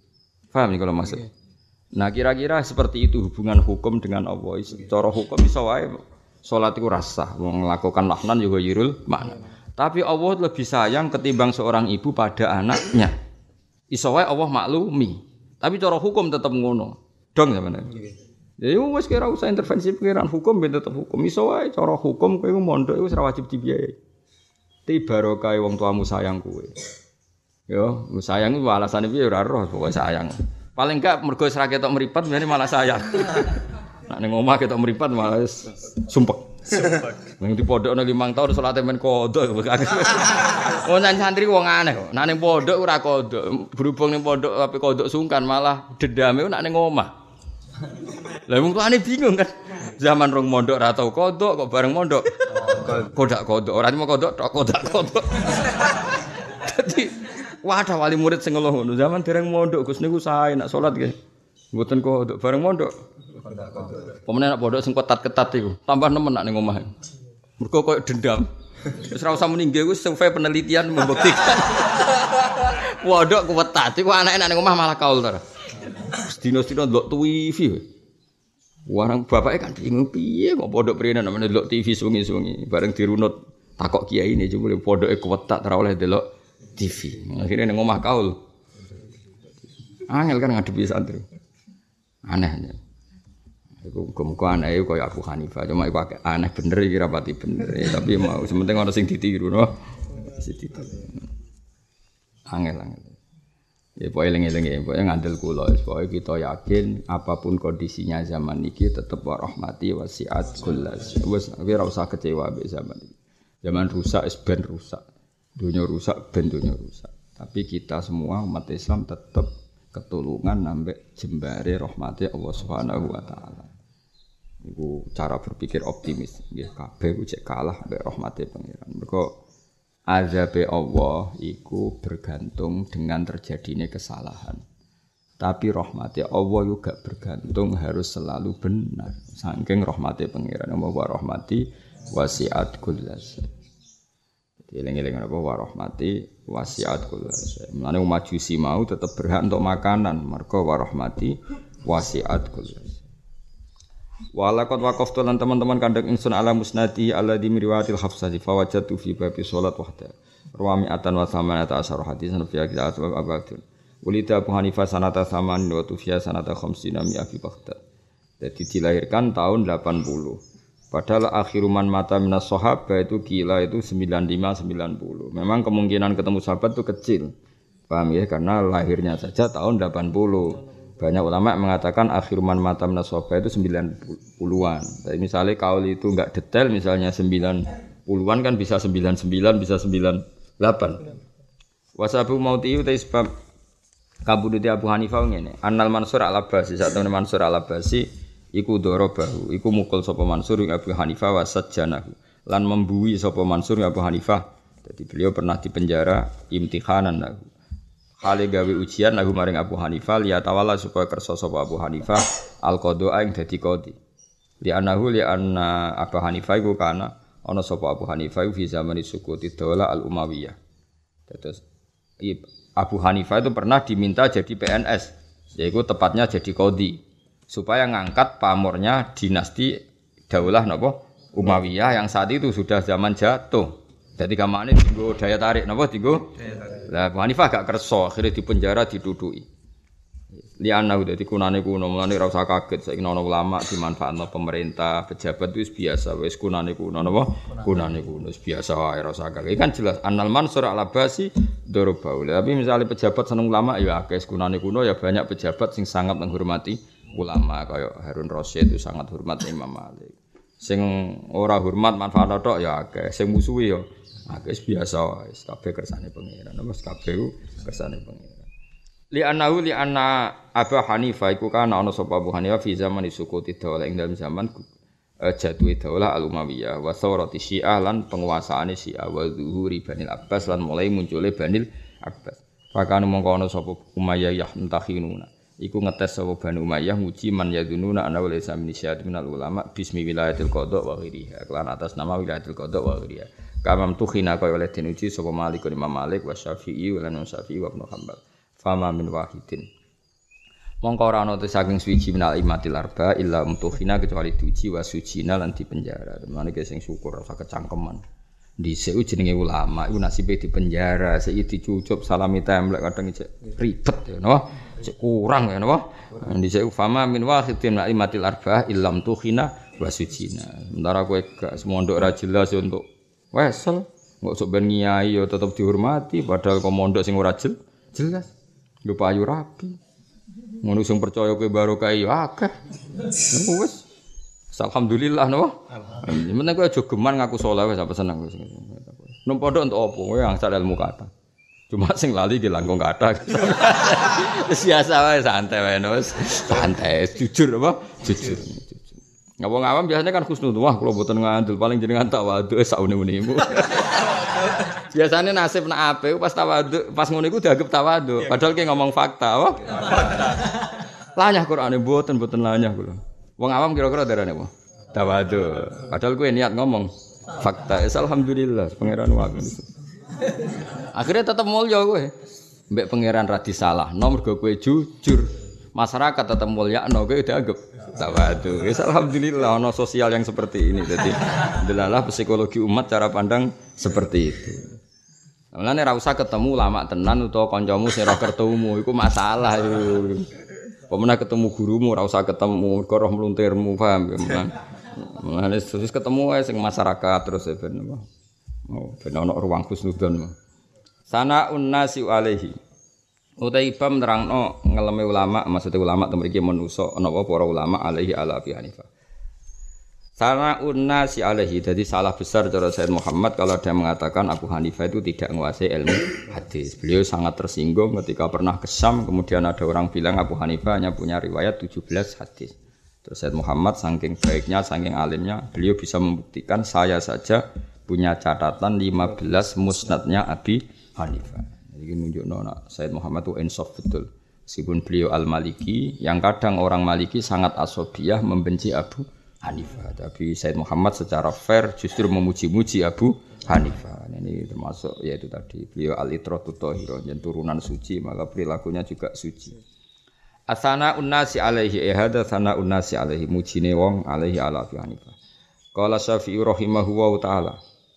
Paham nih kalau maksud? Nah kira-kira seperti itu hubungan hukum dengan Allah. Cara hukum iso wae salat iku rasah, wong melakukan lahnan juga yirul makna. Tapi Allah lebih sayang ketimbang seorang ibu pada anaknya. Iso wae Allah maklumi. Tapi cara hukum tetap ngono. Dong sampeyan. Ya wis kira usah intervensi pengiran hukum ben tetep hukum. Iso wae cara hukum kowe mondok iku ora wajib dibiayai. Ti barokah wong tuamu sayang kowe. Yo, sayang iku alasane piye ora roh, pokoke sayang. Paling enggak mergo wis ra ketok mripat ngene malah sayang. Nek ning omah ketok mripat malah wis sumpek. Ning di pondokne 5 tahun salate men kodok. Wong santri wong aneh kok. Nek ning pondok ora kodok, berhubung ning pondok ape kodok sungkan malah dendame nek ning omah. Lah wong tuane bingung kan. Zaman rong mondok ora tau kodok kok bareng mondok. Kodak kodok, ora cuma kodok tok kodak kodok. Dadi wadah wali murid sing ngeluh ngono. Zaman dereng mondok Gus niku sae nak salat nggih. Mboten kodok bareng mondok. Kodak kodok. Pemene nak pondok sing ketat-ketat iku, tambah nemen nak ning omah. Mergo koyo dendam. Wis ora usah muni nggih wis survei penelitian membuktikan. Pondok ketat iku anake nak ning omah malah kaul to. Dino-dino ndelok TV. Warang bapake kan bingung piye kok pondok prene namane ndelok TV suwengi-suwengi bareng dirunut takok kiai ini jebule pondoke kuwetak ora oleh ndelok TV. Akhire ning omah kaul. Angel kan ngadepi santri. Aneh. Iku muga aneh kaya Abu Hanifah, cuma iku aneh bener iki rapati bener. Tapi mau sementing ana sing ditiru no. Sing ditiru. Angel. Ya pokoke eling-eling ya, pokoke ngandel kula, pokoke kita yakin apapun kondisinya zaman iki tetep rahmati wasiat kullas. Wis ora usah kecewa mbek zaman iki. Zaman rusak wis ben rusak. Dunia rusak ben dunia rusak. Tapi kita semua umat Islam tetep ketulungan ambek jembare rahmati Allah Subhanahu wa taala. Iku cara berpikir optimis nggih kabeh ku cek kalah ambek rahmati pangeran. Mergo azabe Allah iku bergantung dengan terjadinya kesalahan. Tapi rahmati Allah juga bergantung harus selalu benar. Saking rahmati pangeran wa rahmati wasiat kullas. Eling-eling apa wa rahmati wasiat kullas. Mulane Majusi mau tetap berhak untuk makanan, mergo wa rahmati wasiat kullas. Walaqad waqaftu lan teman-teman kandhang ingsun ala musnadi alladzi riwayatil hafsati fawajatu fi babi salat wahda. Rawami atan wa samanata asyara hadisan fi kitab abadun. Ulida Abu Hanifah sanata saman wa tufiya sanata khamsina mi abi Baghdad. Jadi dilahirkan tahun 80. Padahal akhiruman mata minas sahabat itu gila itu 95 90. Memang kemungkinan ketemu sahabat itu kecil. Paham ya? Karena lahirnya saja tahun 80. Banyak ulama mengatakan akhiruman mata minas sahabat itu 90-an. Tapi misalnya kaul itu enggak detail, misalnya 90-an kan bisa 99, bisa 98. Wasabu mauti uta sebab kabudute Abu Hanifah ngene. Annal Mansur al-Abbasi, sak temene Mansur al-Abbasi iku dorobahu, iku mukul sapa Mansur ing Abu Hanifah wasajjanahu. Lan membuwi sapa Mansur ing Abu Hanifah. Jadi beliau pernah dipenjara imtihanan lahu. Hale gawe ujian lagu maring Abu Hanifah liya tawalla supaya kersa sapa Abu Hanifah al-qadha ing dadi qadhi. Li annahu li anna Abu Hanifah iku kana ana sapa Abu Hanifah fi zamani sukuti daulah al-Umayyah. Terus Abu Hanifah itu pernah diminta jadi PNS, yaitu tepatnya jadi qadhi supaya ngangkat pamornya dinasti daulah napa Umayyah yang saat itu sudah zaman jatuh. Jadi kamane dienggo daya tarik napa dienggo? Lah Abu Hanifah gak kersa, akhirnya dipenjara diduduki. Liana udah dikunane kuno, mulane ora usah kaget saiki ana ulama dimanfaatno pemerintah, pejabat wis biasa, wis kunane kuno napa? Kunane kuno wis biasa wae ora usah kaget. Kan jelas Annal Mansur al-Abbasi dorobaul. Tapi misalnya pejabat seneng ulama ya akeh kunane kuno ya banyak pejabat sing sangat menghormati ulama kaya Harun Rasyid itu sangat hormat Imam Malik. Sing ora hormat manfaat tok ya akeh, sing musuhi ya akeh biasa wae, kabeh kersane pangeran. Wis kabeh kersane pangeran. Li anna Abu Hanifah iku kana ana sapa Abu Hanifah fi zaman sukuti daulah ing dalam zaman jatuhe daulah al-Umayyah wa thawrati Syiah lan penguasaane Syiah wa zuhuri Banil Abbas lan mulai muncule Banil Abbas. Pakane mongko ana sapa Umayyah yahtahinuna. Iku ngetes sapa Bani Umayyah nguji man yadununa ana wala min syahid minal ulama bismi wilayatil qada wa ghairiha. Kelan atas nama wilayatil qada wa ghairiha. Kamam tuhina kaya oleh den uji sapa Malik Imam Malik wa Syafi'i wa lan Syafi'i wa Ibnu Hanbal. Fama min wahidin. Mongko ora ana saking suci minal imatil arba illa umtuhina kecuali diuji wa sujina lan dipenjara. Temane ki sing syukur ora kecangkeman. Dhisik jenenge ulama iku nasibe dipenjara, saiki dicucup salami templek kadang cek ribet ya napa? Cek kurang ya napa? Dhisik fama min wahidin imatil arba illa umtuhina wa sujina. Sementara kowe gak semondok ora jelas untuk wesel, kok sok ben ngiyai ya tetep dihormati padahal kok mondok sing ora jelas. Yo payu rapi. Ngono sing percaya kowe barokah yo akeh. Wis. Alhamdulillah no. Meneng kowe aja geman ngaku saleh wis apa seneng wis. Nang pondok entuk apa? Kowe angsal ilmu kata. Cuma sing lali ki langkung kata. Biasa wae santai wae wis. Santai, jujur apa? Jujur. Ngawang awam biasanya kan khusnul. Wah, kula mboten ngandel paling jenengan tawadhu saune-unemu. Biasanya nasib nak ape pas tawadhu, pas ngono iku dianggap tawadhu. Padahal ki ngomong fakta, apa? Lanyah Qur'ane mboten lanyah kula. Wong awam kira-kira darane apa? Tawadhu. Padahal kowe niat ngomong fakta. Alhamdulillah pangeran wae. Akhirnya tetep mulya kowe. Mbek pangeran ra disalahno mergo kowe jujur. Masyarakat tetep mulyakno kowe dianggap tawadhu. Alhamdulillah ana sosial yang seperti ini. Jadi delalah psikologi umat cara pandang seperti itu. Mulane ra usah ketemu ulama tenan utawa kancamu sing ora kertumu iku masalah iku. Pemena ketemu gurumu ora usah ketemu mergo roh mluntirmu paham ya. Mulane terus ketemu wae sing masyarakat terus ben apa. Oh, ben ana ruang husnudzon. Sana'un nasi alaihi. Utai ibam nerangno ngeleme ulama, maksudnya ulama mriki manusa ana apa para ulama alaihi ala Abi Hanifah. Sana'un nasi alaihi, jadi salah besar cara Sayyid Muhammad kalau ada mengatakan Abu Hanifah itu tidak menguasai ilmu hadis. Beliau sangat tersinggung ketika pernah ke Syam, kemudian ada orang bilang Abu Hanifah hanya punya riwayat 17 hadis. Terus Sayyid Muhammad saking baiknya, saking alimnya, beliau bisa membuktikan saya saja punya catatan 15 musnadnya Abi Hanifah. Jadi nunjukno Sayyid Muhammad itu insaf betul. Meskipun beliau al-Maliki, yang kadang orang Maliki sangat asobiyah membenci Abu Hanifah. Tapi Sayyid Muhammad secara fair justru memuji-muji Abu Hanifah. Ini termasuk yaitu tadi beliau al-itratu thahirah, yang turunan suci, maka perilakunya juga suci. Asana unnasi alaihi hada sana unnasi alaihi mujine wong alaihi ala Abi Hanifah. Qala Syafi'i rahimahu wa taala.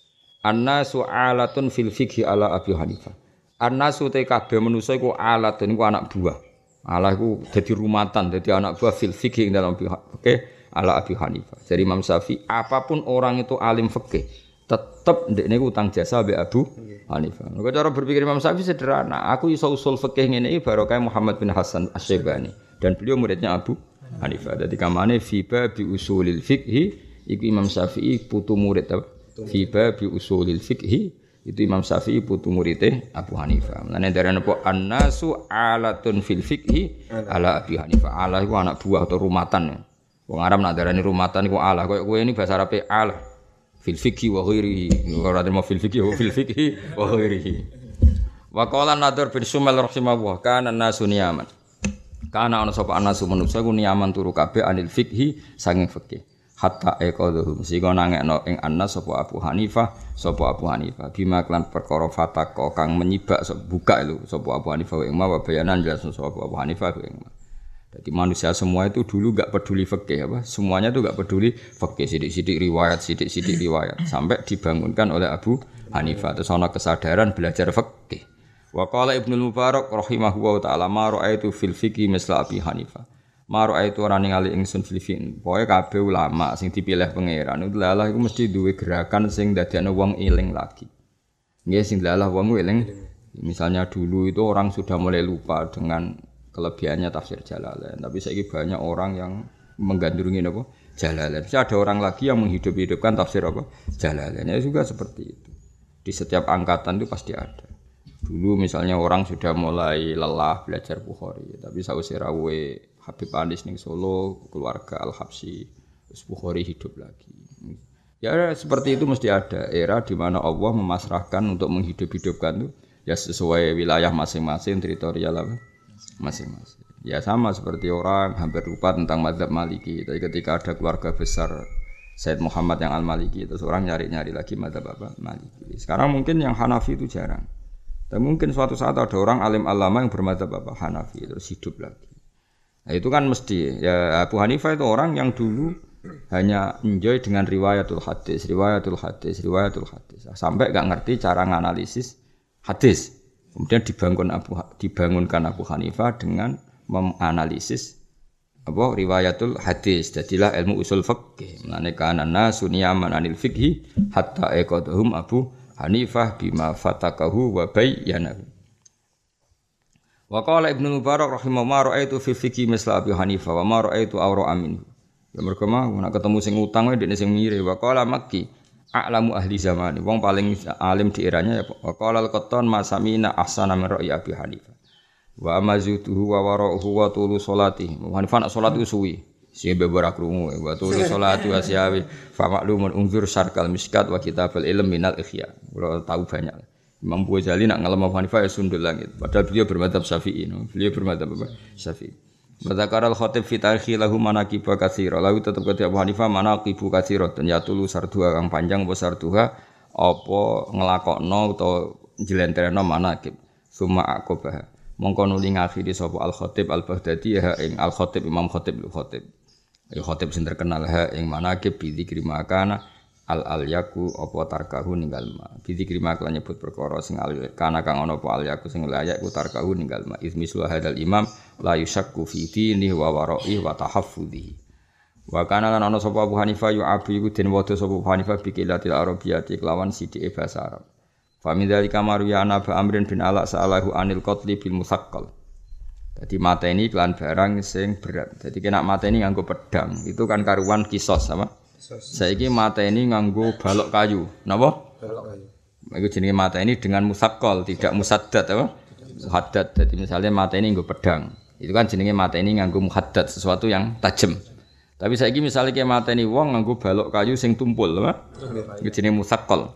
Annasu alatun fil fiqhi ala Abi Hanifah. Annasu te kabeh manusa iku alatun iku anak buah. Allah iku dadi rumatan, dadi anak buah fil fiqhi dalam fikih ala Abi Hanifah. Dari Imam Syafi'i, apapun orang itu alim fikih, tetap ndekne utang jasa be Abu Hanifah. Nek cara berpikir Imam Syafi'i sederhana, aku iso usul fikih ngene iki barokah Muhammad bin Hasan Asy-Syaibani dan beliau muridnya Abu Hanifah. Dadi kamane fi babi usulil fiqhi iku Imam Syafi'i putu murid apa? Fi babi usulil fiqhi itu Imam Syafi'i putu muridé Abu Hanifah. Lan darane apa annasu alatun fil fiqhi ala Abi Hanifah. Ala iku anak buah atau rumatan. Wong Arab nak darani rumatan iku alah. Kowe ini bahasa Arabe alah. Fil fiqhi wa ghairihi. Ora terima fil fiqhi wa ghairihi. Wa qala Nadhr bin Sumail rahimahullah kana nasu niyaman. Kana ana sapa anasu manusa iku niyaman turu kabeh anil fiqhi sanging fikih. Hatta aqadhum sing nangekno ing anas sapa Abu Hanifah bima klan perkara fatako kang menyibak buka lho sapa Abu Hanifah ing ma bayanan jelas sapa Abu Hanifah ing ma. Jadi manusia semua itu dulu enggak peduli fikih apa? Semuanya itu enggak peduli fikih, sidik-sidik riwayat sampai dibangunkan oleh Abu Hanifah. Terus ana kesadaran belajar fikih. Wa qala Ibnu Mubarak rahimahullahu taala ma ra'aitu fil fiqhi misla Abi Hanifah. Ma ra'aitu ora ningali ingsun fil fiqhi. Pokoke kabeh ulama sing dipilih pangeran itu lalah iku mesti duwe gerakan sing dadekno wong eling lagi. Nggih sing lalah wong eling. Misalnya dulu itu orang sudah mulai lupa dengan kelebihannya tafsir Jalalain, tapi saiki banyak orang yang menggandrungi apa? Jalalain. Mesti ada orang lagi yang menghidup-hidupkan tafsir apa? Jalalain. Ya juga seperti itu. Di setiap angkatan itu pasti ada. Dulu misalnya orang sudah mulai lelah belajar Bukhari, tapi sausé rawuhe Habib Anis ning Solo, keluarga Al-Habsyi, terus Bukhari hidup lagi. Ya seperti itu mesti ada era di mana Allah memasrahkan untuk menghidup-hidupkan itu ya sesuai wilayah masing-masing, teritorial apa? Masing-masing. Ya sama seperti orang hampir lupa tentang mazhab Maliki. Tapi ketika ada keluarga besar Sayyid Muhammad yang Al-Maliki, terus orang nyari-nyari lagi mazhab apa? Maliki. Sekarang mungkin yang Hanafi itu jarang. Tapi mungkin suatu saat ada orang alim alama yang bermazhab apa? Hanafi terus hidup lagi. Nah, itu kan mesti ya Abu Hanifah itu orang yang dulu hanya enjoy dengan riwayatul hadis sampai gak ngerti cara nganalisis hadis. Kemudian dibangunkan Abu Hanifah dengan menganalisis apa riwayatul hadis. Jadilah ilmu usul fiqh. Mulane kana nasu niyaman anil fiqhi hatta aqadhum Abu Hanifah bima fatakahu wa bayyanahu. Wa qala Ibnu Mubarak rahimahullah ra'aitu fi fiqhi misla Abi Hanifah wa ma ra'aitu awra amin. Ya mergo mah nek ketemu sing utang wae dekne sing mire. Wa qala Makki a'lamu ahli zaman. Wong paling alim di eranya ya wa qala al-Qattan ma samina ahsana min ra'i Abi Hanifah. Wa amazutuhu wa wara'uhu wa tulu salati. Hanifah nak salat suwi. Sing beberak krungu wa tulu salati wa siyawi fa ma'lumun unzur syarkal miskat wa kitabul ilm minal ikhya. Ora tahu banyak. Imam Ghazali nak ngalem Abu Hanifah ya sundul langit. Padahal beliau bermadzhab Syafi'i. Beliau bermadzhab apa? Syafi'i. Madzakaral khatib fi tarikhi lahu manaqib katsira. Lalu tetep kata Abu Hanifah manaqib katsira dan ya tulu sarduha kang panjang apa sarduha apa nglakokno utawa njlentreno manaqib. Summa aqobah. Mongko nuli ngakhiri sapa al khatib al Baghdadi ha ing al khatib Imam Khatib al Khatib. Ya khatib sing terkenal ha ing manaqib bi dzikri makana al yaku apa tarkahu ninggal ma. Bi dzikri makana nyebut perkara sing kana kang ana apa al yaku sing layak ku tarkahu ninggal ma. Ismislu hadal imam la yushakku fi dini wa wara'i wa tahaffudhi. Wa kana lan ana sapa Abu Hanifah yu abi iku den wada sapa Abu Hanifah bi qilatil arabiyyati kelawan sithike basa Arab. Fa min dzalika maruyana ba Amrin bin Ala sa'alahu anil qatli bil musaqqal. Dadi mateni kelan barang sing berat. Dadi kena mateni nganggo pedang. Itu kan karuan kisos apa? Saiki mateni nganggo balok kayu. Napa? Balok kayu. Iku jenenge mateni dengan musaqqal, tidak musaddad apa? Muhaddad. Dadi misalnya mateni nganggo pedang. Itu kan jenenge mateni nganggo muhaddad, sesuatu yang tajam. Tapi saiki misalnya kayak mateni wong nganggo balok kayu sing tumpul, apa? Iku jenenge musaqqal.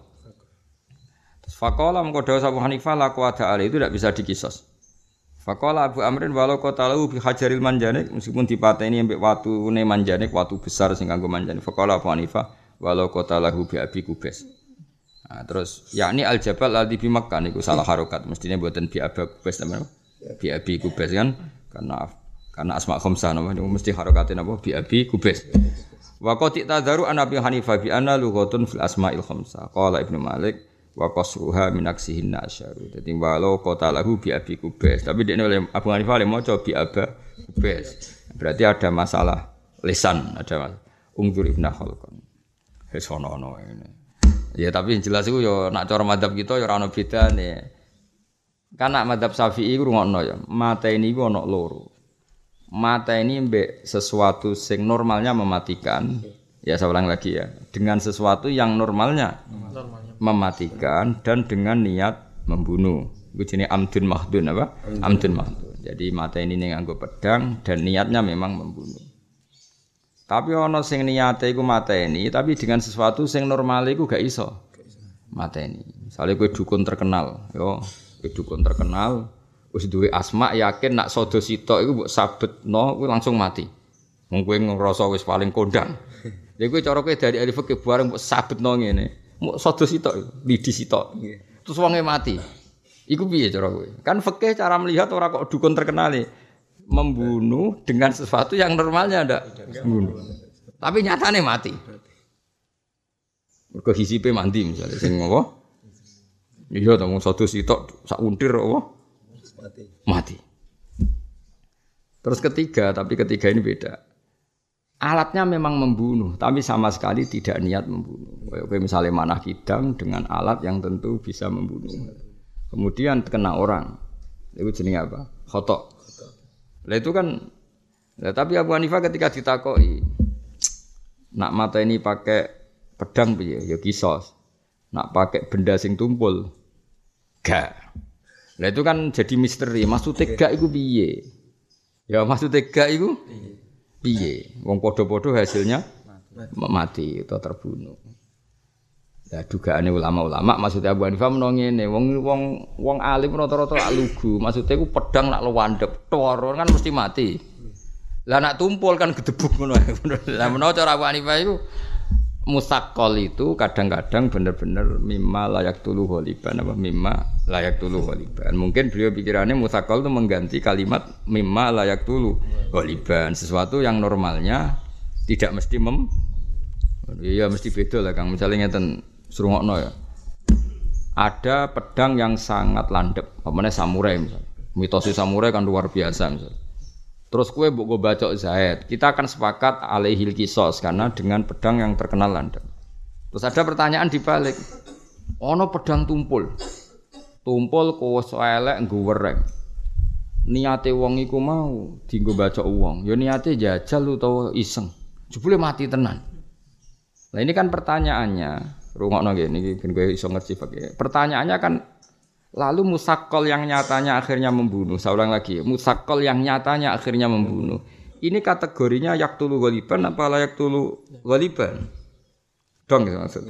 Faqala mengko dawuh Abu Hanifah la qawada ali itu tidak bisa dikisos. Faqala Abu Amrin walau qatalahu bi hajaril manjanik meskipun dipateni ambek watune manjanik watu besar sing kanggo manjanik. Faqala Abu Hanifah walau qatalahu bi abi kubes. Nah, terus yakni al jabal ladzi bi Makkah niku salah harokat mestine mboten bi abi kubes teman. Bi abi kubes kan karena asma khamsah napa niku mesti harokate napa bi abi kubes. Wa qad tadaru an Abi Hanifah bi anna lughatun fil asma'il khamsah. Qala Ibnu Malik wa qasruha min aksihin nasyaru. Dadi walau qatalahu bi abi kubes. Tapi dekne oleh Abu Hanifah le maca bi aba kubes. Berarti ada masalah lisan, ada ungdur Ibnu Khalqan. Wis ono ini. Ya tapi yang jelas iku ya nak cara madzhab kita ya ora ono bedane. Kan nak madzhab Syafi'i iku rungokno ya. Mata ini iku ono loro. Mata ini mbek sesuatu sing normalnya mematikan. Ya saya ulang lagi ya. Dengan sesuatu yang normalnya mematikan dan dengan niat membunuh. Itu jenis amdun mahdun apa? Amdun mahdun. Jadi mata ini nganggo pedang dan niatnya memang membunuh. Tapi ono sing niate iku mata ini tapi dengan sesuatu sing normal iku gak iso. Mata ini. Misalnya kowe dukun terkenal, yo, kowe dukun terkenal wis duwe asma yakin nak sodo sitok iku mbok sabetno kowe langsung mati. Wong kowe ngrasa wis paling kondang. Ya kowe cara kowe dari ahli fikih bareng mbok sabetno ngene. Mbok sodo sitok, lidi sitok. Terus wonge mati. Iku piye cara kowe? Kan fikih cara melihat ora kok dukun terkenal membunuh dengan sesuatu yang normalnya ndak membunuh. Tapi nyatane mati. Mergo hisipe mandi misalnya sing apa? Iya ta wong sodo sitok sak untir apa? Mati. Terus ketiga ini beda. Alatnya memang membunuh, tapi sama sekali tidak niat membunuh. Kayak misalnya manah kidang dengan alat yang tentu bisa membunuh. Kemudian kena orang, itu jenis apa? Khotok. Lah itu kan, tapi Abu Hanifah ketika ditakoi, nak mata ini pakai pedang piye? Ya kisos. Nak pakai benda sing tumpul, gak. Lah itu kan jadi misteri. Maksudnya gak itu piye? Ya maksudnya gak itu piye? Wong podo-podo hasilnya mati atau terbunuh. Ya dugaane ulama-ulama maksudnya Abu Hanifah menawa ngene, wong alim rata-rata lugu. Maksudnya iku pedang nak lewandep, tor kan mesti mati. Lah nak tumpul kan gedebuk ngono. Lah menawa cara Abu Hanifah iku musaqqal itu kadang-kadang benar-benar mimma layak tulu ghaliban apa mimma layak tulu ghaliban. Mungkin beliau pikirannya musaqqal itu mengganti kalimat mimma layak tulu ghaliban, sesuatu yang normalnya tidak mesti ya mesti beda lah Kang. Misalnya ngeten srungokno ya. Ada pedang yang sangat landep, apane samurai misalnya. Mitosnya samurai kan luar biasa misalnya. Terus kue mbok bacok Zaid, kita akan sepakat alaihil kisos karena dengan pedang yang terkenal landep. Terus ada pertanyaan dibalik, ono pedang tumpul kowe elek nggo wereng. Niate wong iku mau dienggo bacok wong, ya niate jajal utawa iseng. Jebule mati tenan. Nah ini kan pertanyaannya, rungokno ngene iki ben kowe iso ngerti pakai. Pertanyaannya kan lalu musaqqal yang nyatanya akhirnya membunuh. Saya ulang lagi, musaqqal yang nyatanya akhirnya membunuh. Ini kategorinya yaktulu ghaliban apa la yaktulu ghaliban? Dong gitu maksudnya.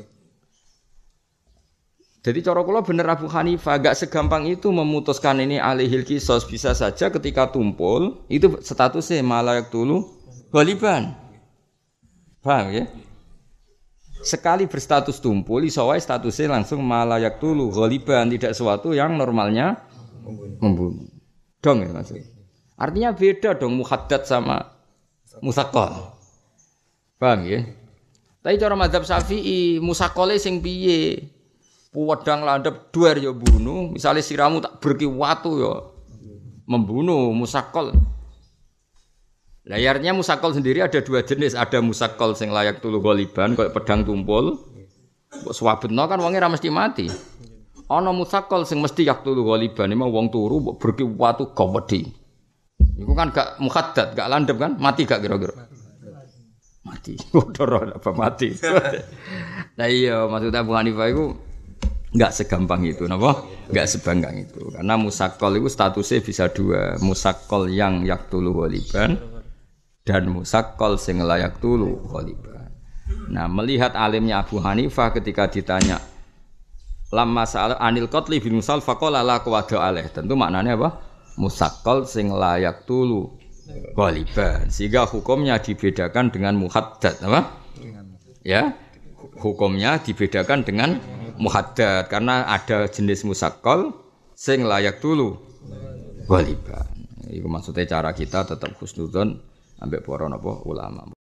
Jadi cara kula bener Abu Hanifah gak segampang itu memutuskan ini alihil kisos, bisa saja ketika tumpul itu statusnya ma la yaktulu ghaliban. Paham ya? Sekali berstatus tumpul, iso wae statusnya langsung malayak tulu ghaliban, tidak sesuatu yang normalnya membunuh. Dong ya maksudnya. Artinya beda dong muhaddad sama musaqqal. Paham ya? Tapi cara mazhab Syafi'i, musaqqale sing piye? Pedang landhep duar ya bunuh, misalnya siramu tak berki watu ya membunuh musaqqal. Layarnya musaqqal sendiri ada dua jenis, ada musaqqal sing layak tulu ghaliban kayak pedang tumpul. Mbok swabetno kan wonge ra mesti mati. Ana musaqqal sing mesti yak tulu ghaliban, emang wong turu mbok berki watu gawedi. Iku kan gak muhaddad, gak landhep kan? Mati gak kira-kira? Mati. Udara apa mati. Nah iya, maksudnya Abu Hanifah iku enggak segampang itu, napa? Enggak segampang itu. Karena musaqqal itu statusnya bisa dua, musaqqal yang yak tulu ghaliban dan musaqqal sing layak tulu ghaliban. Nah, melihat alimnya Abu Hanifah ketika ditanya lamma sa'al anil qatli bil musal faqala la qawada alaih. Tentu maknanya apa? Musaqqal sing layak tulu ghaliban. Sehingga hukumnya dibedakan dengan muhaddad, apa? Ya. Hukumnya dibedakan dengan muhaddad karena ada jenis musaqqal sing layak tulu ghaliban. Iku maksudnya cara kita tetap husnudzon ambek para napa ulama.